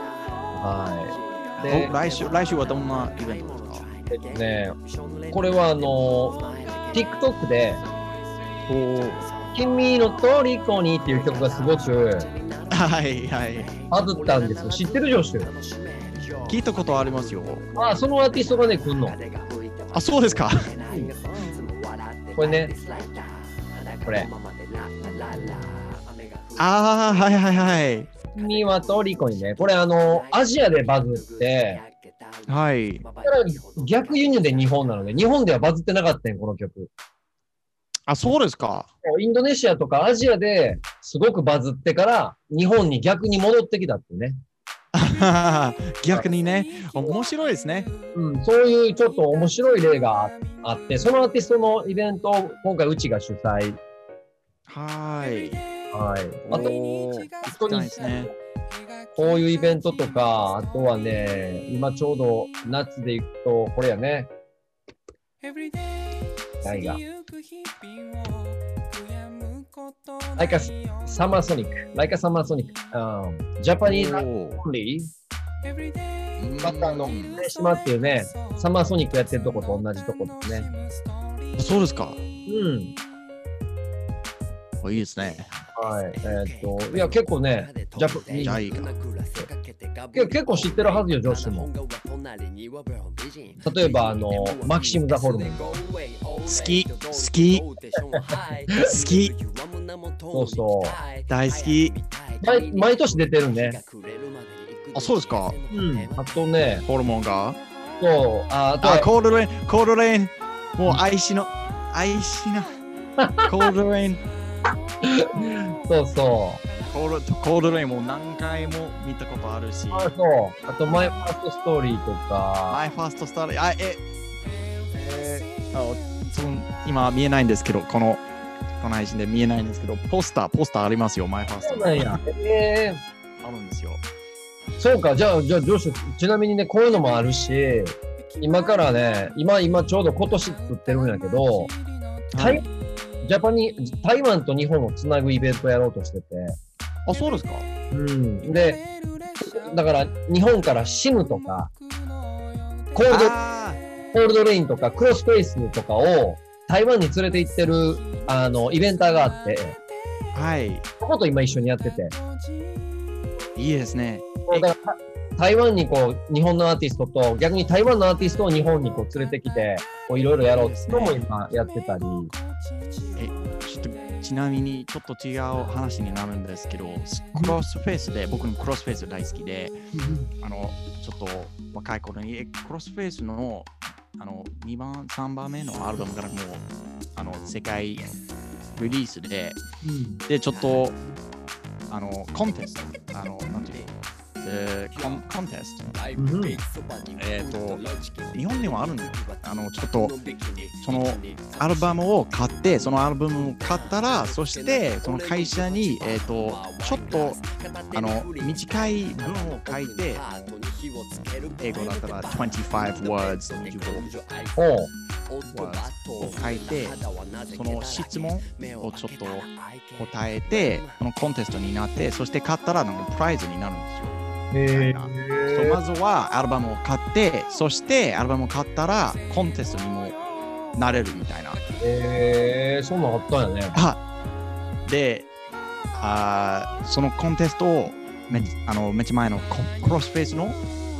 はい。 で、来週はどんなイベントですか？ これはTikTok で、君の虜にっていう曲がすごく、バズったんですよ。知ってる？ジョシュ。 聞いたことありますよ。 あ、そのアーティストがね、来んの。 あ、そうですか。 これね、これ。 はい。 君は虜にね、これアジアでバズって、 はい。 逆輸入で日本なので、日本ではバズってなかったん、この曲。 あ、そうですか。 インドネシアとかアジアですごくバズってから、日本に逆に戻ってきたってね。 逆にね、面白いですね。 そういうちょっと面白い例があって、そのアーティストのイベントを今回うちが主催。 はい。 あと、 人にですね。 こういうイベントとか、あとはね、今ちょうど夏で行くと、これやね。何がLike a Summer Sonic。Like a Summer Sonic。Japanese only。また広島っていうね、サマーソニックやってるとこと同じとこですね。 そうですか。いいですね。 いや、結構ね、 じゃあいいか。 結構知ってるはずよ、女子も。例えば、マキシム・ザ・ホルモン。 好き。 そうそう。 大好き。 毎年出てるね。 あ、そうですか。 あとね、 ホルモンが。 そう。 コールドレイン。もう愛しな。コールドレイン。 そうそう。 コールドレインも何回も見たことあるし。 そう。あと、マイファーストストーリーとか。 マイファーストストーリー。今見えないんですけど、この配信で見えないんですけど、ポスターありますよ、マイファースト。 そうなんや。 あるんですよ。 そうか、じゃあ、ジョシュ、ちなみにね、こういうのもあるし、今からね、今ちょうど今年作ってるんやけど、台湾と日本をつなぐイベントやろうとしてて。 あ、そうですか。 で、だから日本からシムとか、コールドレインとか、クロスフェイスとかを台湾に連れて行ってる、イベンターがあって、そこと今一緒にやってて。 いいですね。 だから台湾に日本のアーティストと、逆に台湾のアーティストを日本に連れてきて、いろいろやろうっていうのも今やってたり。 ちなみにちょっと違う話になるんですけど、クロスフェイスで、僕のクロスフェイス大好きで、ちょっと若い頃にクロスフェイスの2番、3番目のアルバムからも世界リリースで、で、ちょっとコンテスト、なんていうコンテスト。 うん、 日本にはあるんだよ。ちょっと、そのアルバムを買って、そのアルバムを買ったら、そして、その会社に、ちょっと、短い文を書いて、英語だったら25 words、 おうを書いて、その質問をちょっと答えて、そのコンテストになって、そして買ったらプライズになるんですよ。 へそうまずはアルバムを買って、そしてアルバムを買ったらコンテストにもなれるみたいな。 そんなんあったんやね。 で、そのコンテストをめっちゃ前のクロスフェイスの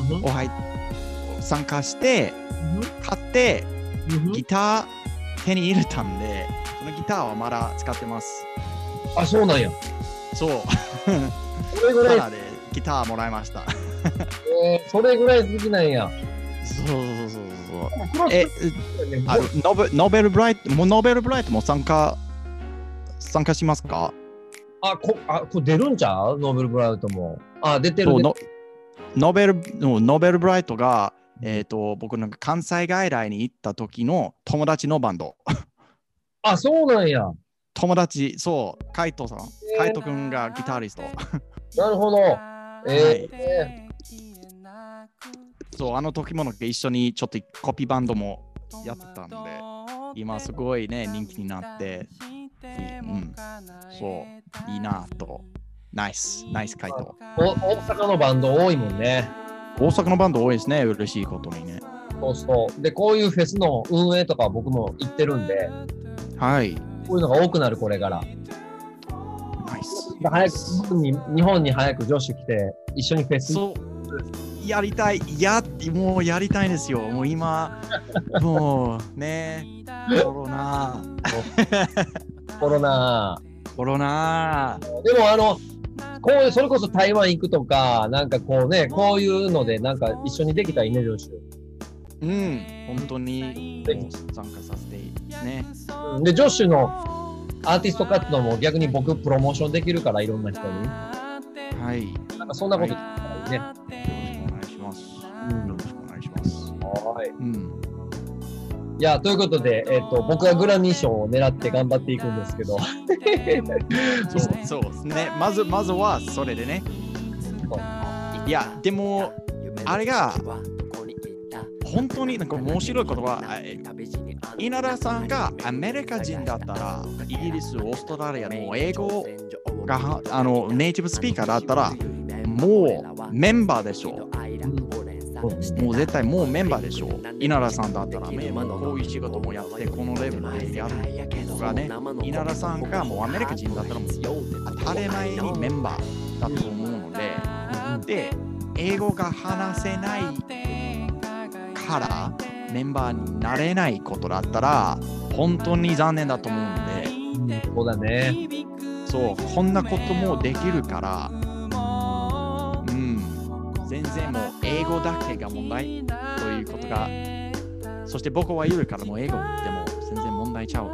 参加して、買って、ギター手に入れたんで、そのギターはまだ使ってます。 あ、そうなんや。 そう。 それぐらい。 タダでギターもらいました。 それぐらい好きなんや。 そう。ノベルブライトも参加しますか？ これ出るんちゃう？ノーベルブライトも。出てるね。 ノベルブライトが、僕なんか関西外来に行った時の友達のバンド。 そうなんや。 友達、そう、カイトさん。カイト君がギタリスト。 なるほど。 そう、あの時も一緒にちょっとコピーバンドもやってたんで、今すごいね、人気になって、そう、いいなと。ナイスカイト。 大阪のバンド多いもんね。 大阪のバンド多いですね、嬉しいことにね。 そう。で、こういうフェスの運営とか僕も行ってるんで、 はい。 こういうのが多くなる、これから。 ナイス。 日本に早く女子来て、一緒にフェス。 そう。やりたい。もうやりたいんですよ。もう今、もうね、コロナ。 でもそれこそ台湾行くとか、なんかこうね、こういうので、なんか一緒にできたらいいね、女子。 本当に参加させてね。 で、女子のアーティスト活動も逆に僕プロモーションできるから、いろんな人に。 はい。 なんかそんなことできたらいいね。 よろしくお願いします。よろしくお願いします。 はい。いや、ということで、僕はグラミー賞を狙って頑張っていくんですけど。 そうですね。まずはそれでね。いや、でも、あれが、本当になんか面白いことは、稲田さんがアメリカ人だったら、イギリス、オーストラリアの英語がネイティブスピーカーだったら、もうメンバーでしょう。もう絶対もうメンバーでしょう。稲田さんだったら、こういう仕事もやって、このレベルでやるとかね。稲田さんがもうアメリカ人だったらもう当たり前にメンバーだと思うので、英語が話せないからメンバーになれないことだったら、本当に残念だと思うんで。 そうだね。 そう、こんなこともできるから、全然もう英語だけが問題ということが、そして僕は言うからもう英語でも全然問題ちゃう。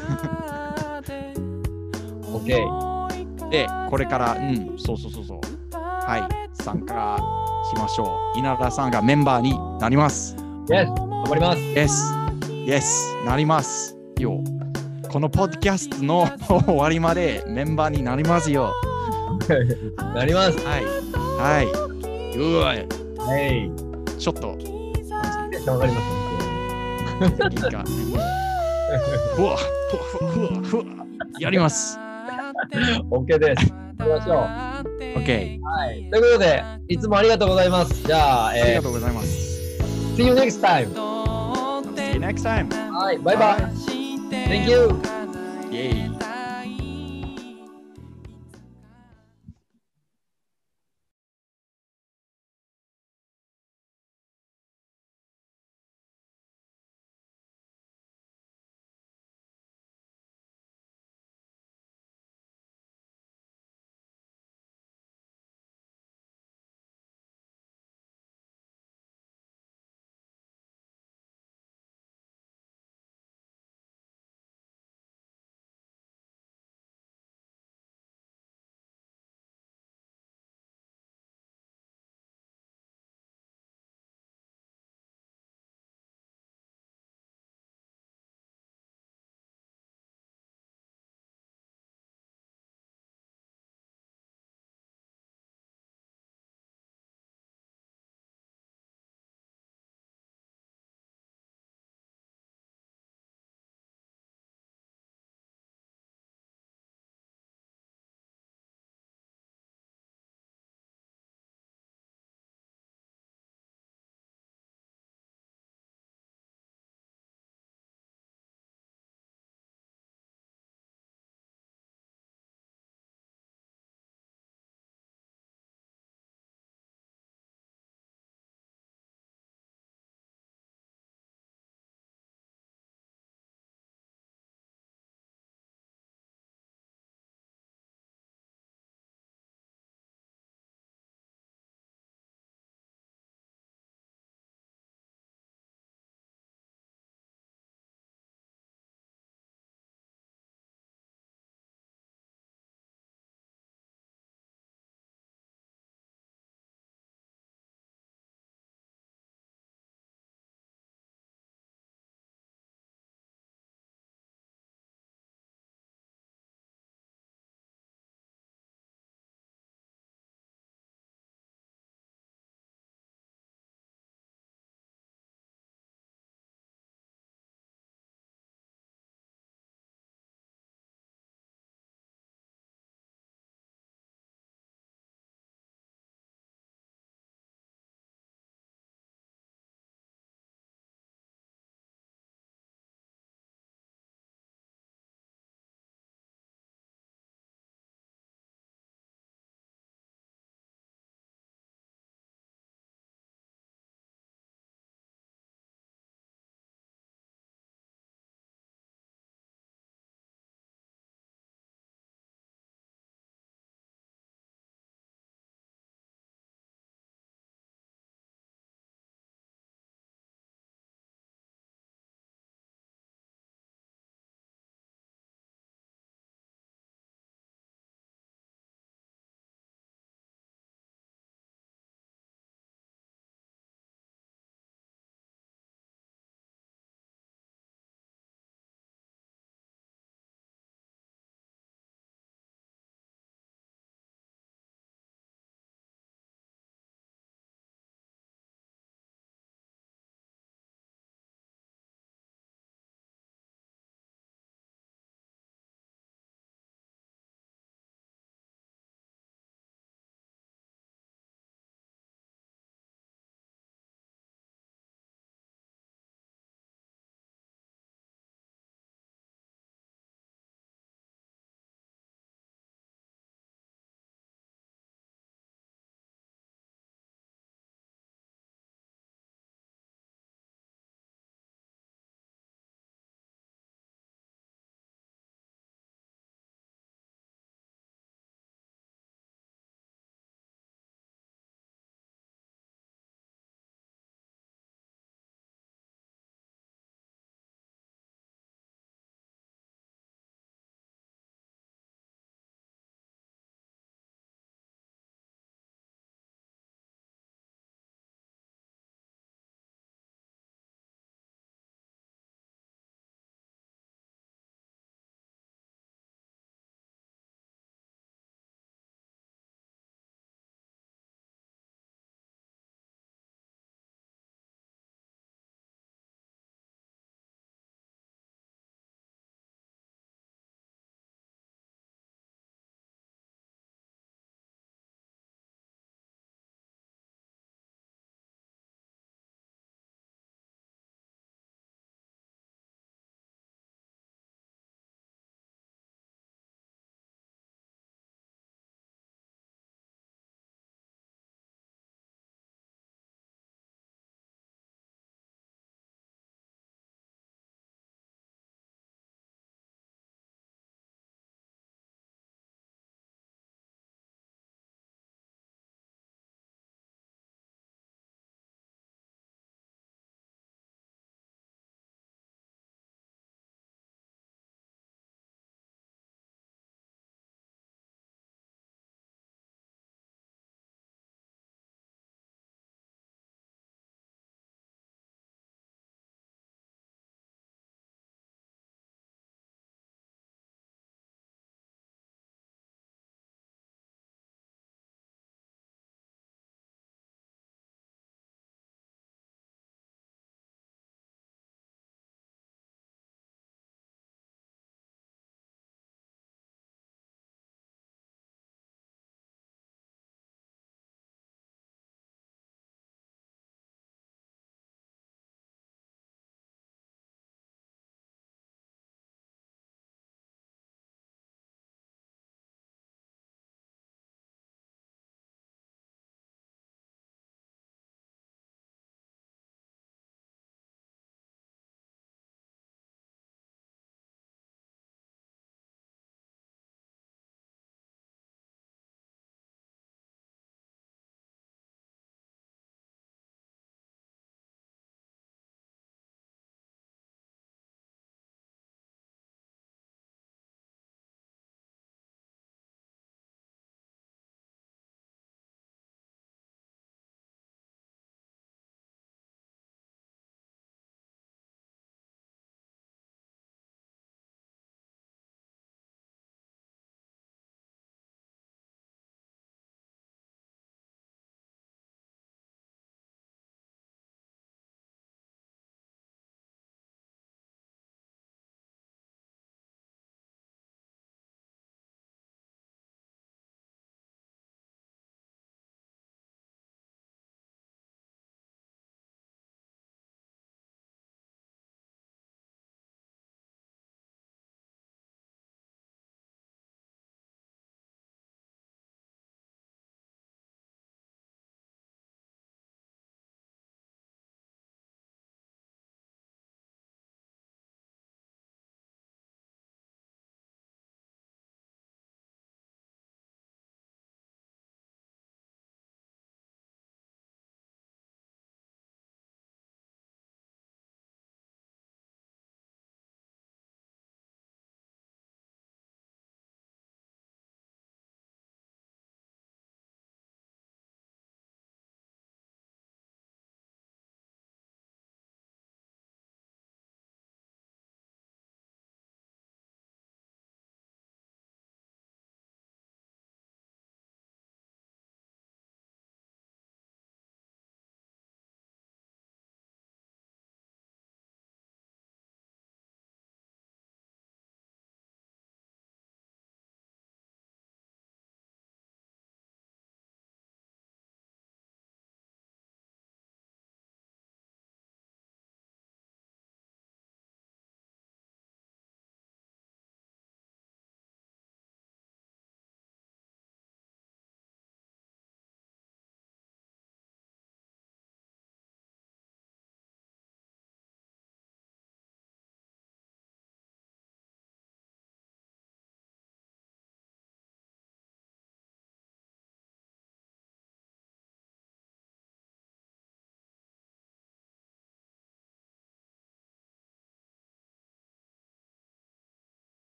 OK。 で、これから、そう。はい、参加しましょう。稲田さんがメンバーになります。 Yes、頑張ります。 Yes、なりますよ。このポッドキャストの終わりまでメンバーになりますよ。 なります。 はい。ちょっと。 わかります。 やります。 OK です。やりましょう。 OK。 はい。ということで、いつもありがとうございます。じゃあ、 ありがとうございます。 See you next time. See you next time. はい、バイバイ。Thank you. Yay.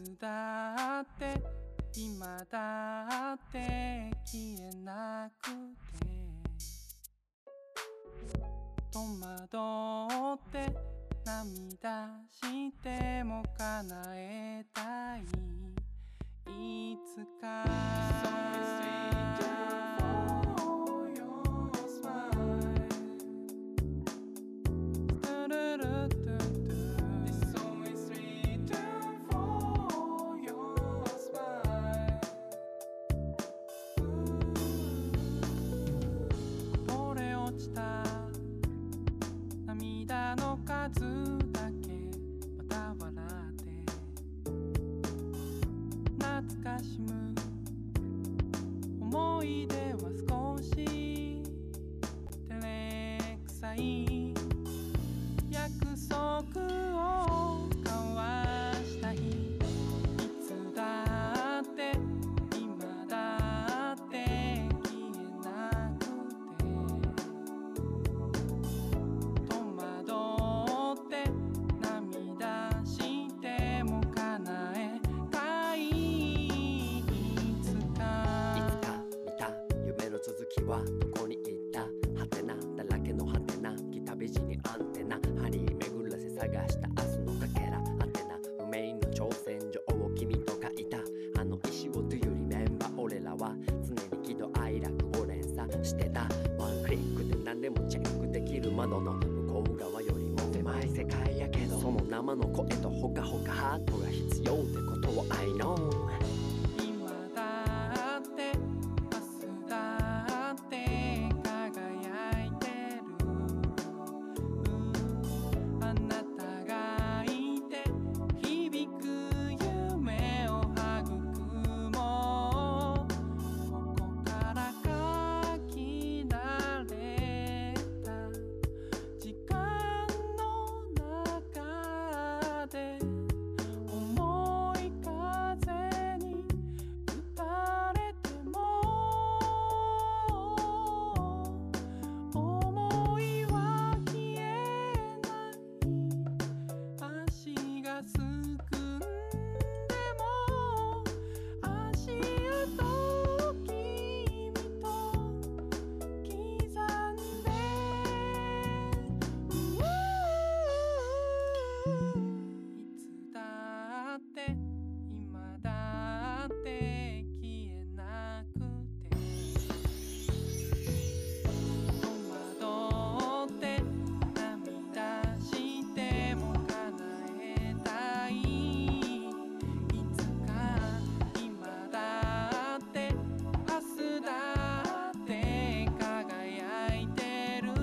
つだって今だって消えなくて戸惑って涙しても叶えたいいつか涙の数だけまた笑って懐かしむ思い出は少し照れくさい約束を交わした日いつだって今だって消えなくて戸惑って涙しても叶えたいいつか見た夢の続きはどこに行ったはてなだらけのはてな北美人にアンテナ針巡らせ探した明日のかけらはてな不明の挑戦状を君と書いたあの石をというリメンバー俺らは常に喜怒哀楽を連鎖してたワンクリックで何でもチェックできる窓の向こう側よりも狭い世界やけどその生の声とほかほかハートが必要ってことを I know 今だって明日だって輝いてるあなたがいて響く夢を育もうここから書き慣れた時間の中で重い風に打たれても思いは消えない足がすくんでも足跡を君と刻んでいつだって今だって消えなくて戸惑って涙しても叶えたいいつか今だって明日だって輝いてる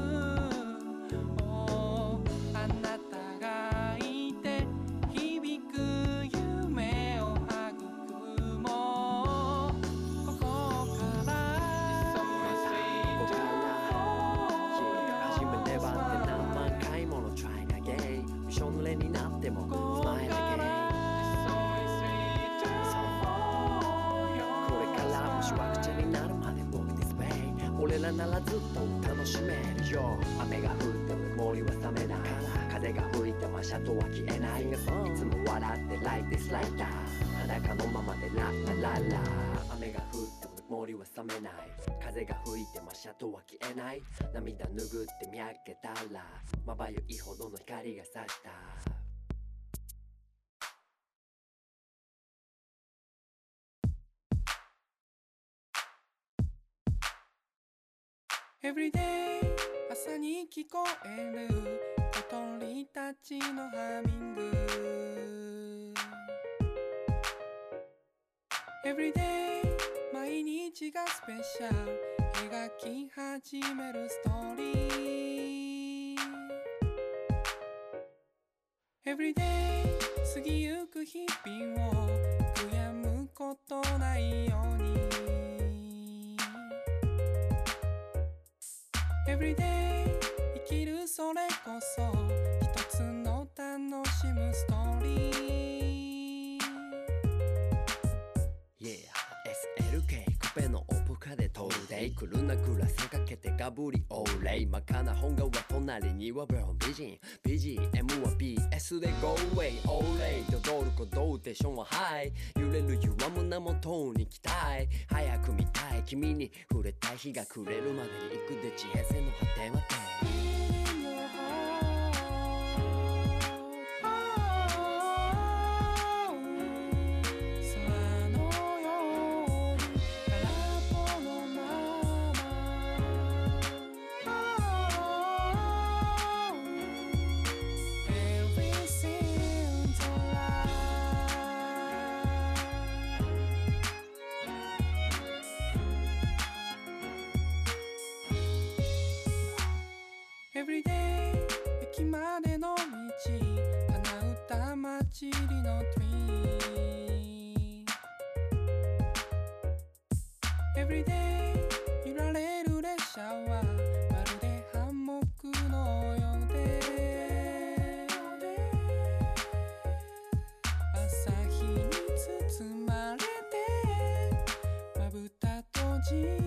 あなたがいて響く夢を育もうここから初めてはって何万回もの Try again びしょ濡れになっても Smile again これからもしわくちゃになるまで Walk this way 俺らならずっと楽しめるよ雨が降っても森は冷めない風が吹いても足跡は消えないいつも笑って Like this like that 裸のままでラッラララ雨が降っても森は冷めない風が吹いても足跡は消えない涙拭って見上げたらまばゆいほどの光が差した Everyday 朝に聞こえる小鳥たちのハミング Everyday 毎日がスペシャル描き始めるストーリー Everyday 過ぎゆく日々を悔やむことないようにEveryday 生きるそれこそ一つの楽しむストーリー Yeah SLK コペのオプカで飛んでいく来るなグラスかけてガブリオーレイ真っ赤な本顔は隣にはブラウン美人 BGM は BS で Go away オーレイ踊る鼓動テンションはハイ揺れる揺らむ名元に期待早く見たい君に触れたい日が暮れるまでに行くで地平線の果てまで Everyday 駅までの道花歌祭りの Tree Everyday 揺られる列車はまるでハンモックのようで朝日に包まれてまぶた閉じ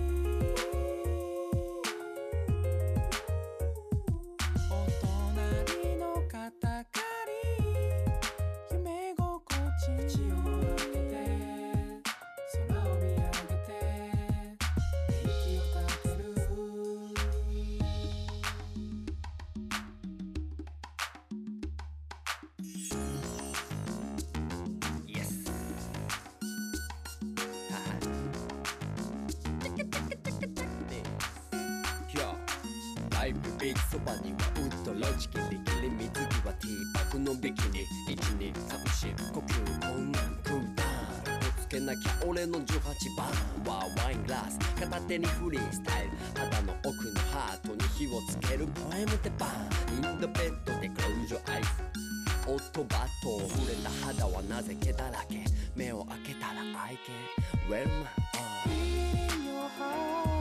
そばにはウッドロジキリキリ水着はティーバッグのビキニ1234呼吸困難クーダウンぶつけなきゃ俺の18番はワイングラス片手にフリースタイル肌の奥のハートに火をつけるポエムでバンインドベッドでクローズアイスオットバット触れた肌はなぜ毛だらけ目を開けたら愛犬 Well man In your heart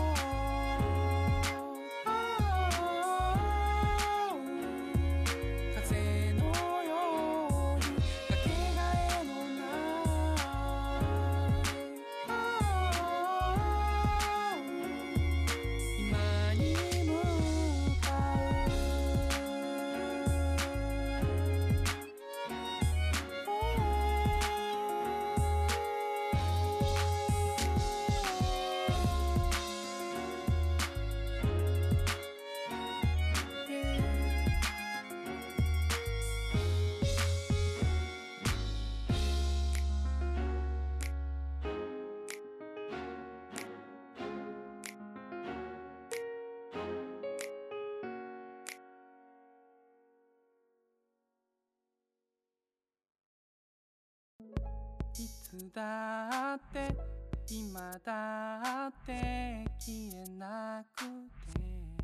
いつだって今だって消えなくて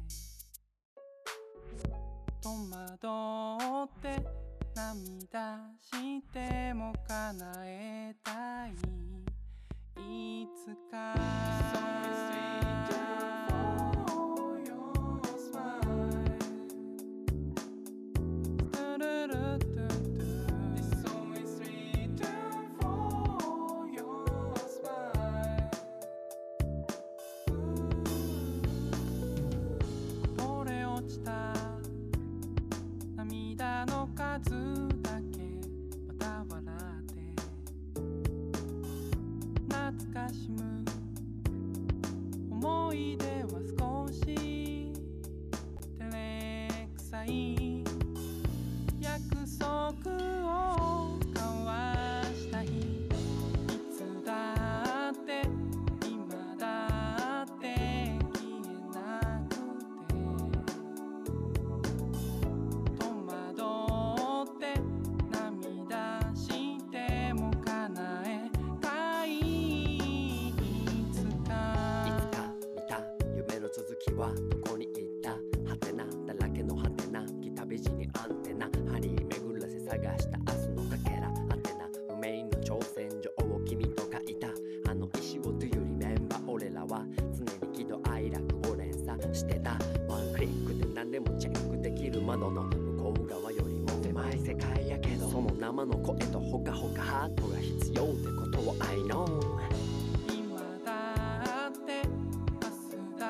戸惑って涙しても叶えたいいつか涙の数だけまた笑って懐かしむ思い出は少し照れくさい約束を交わした日いつだって今だって消えなくて戸惑って涙しても叶えたいいつか見た夢の続きはどこに行ったハテナだらけのハテナ来たビジにアンテナ張り巡らせ探した明日のかけらハテナ不明の挑戦状を君と書いたあの石を Do you remember 俺らは常に喜怒哀楽を連鎖してたワンクリックで何でもチェックできる窓の向こう側よりも狭い世界やけどその生の声とほかほかハートが必要ってことを I know 今だって明日だ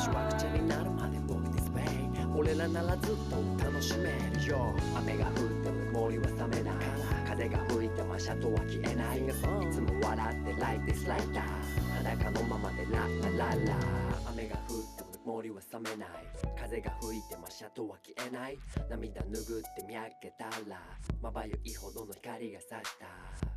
しわくちゃになるまで僕ディスプレイ俺らならずっと楽しめるよ雨が降っても森は冷めない風が吹いてもシャトは消えないいつも笑って Like this like that 裸のままでラッラララ雨が降っても森は冷めない風が吹いてもシャトは消えない涙拭って見上げたらまばゆいほどの光が差した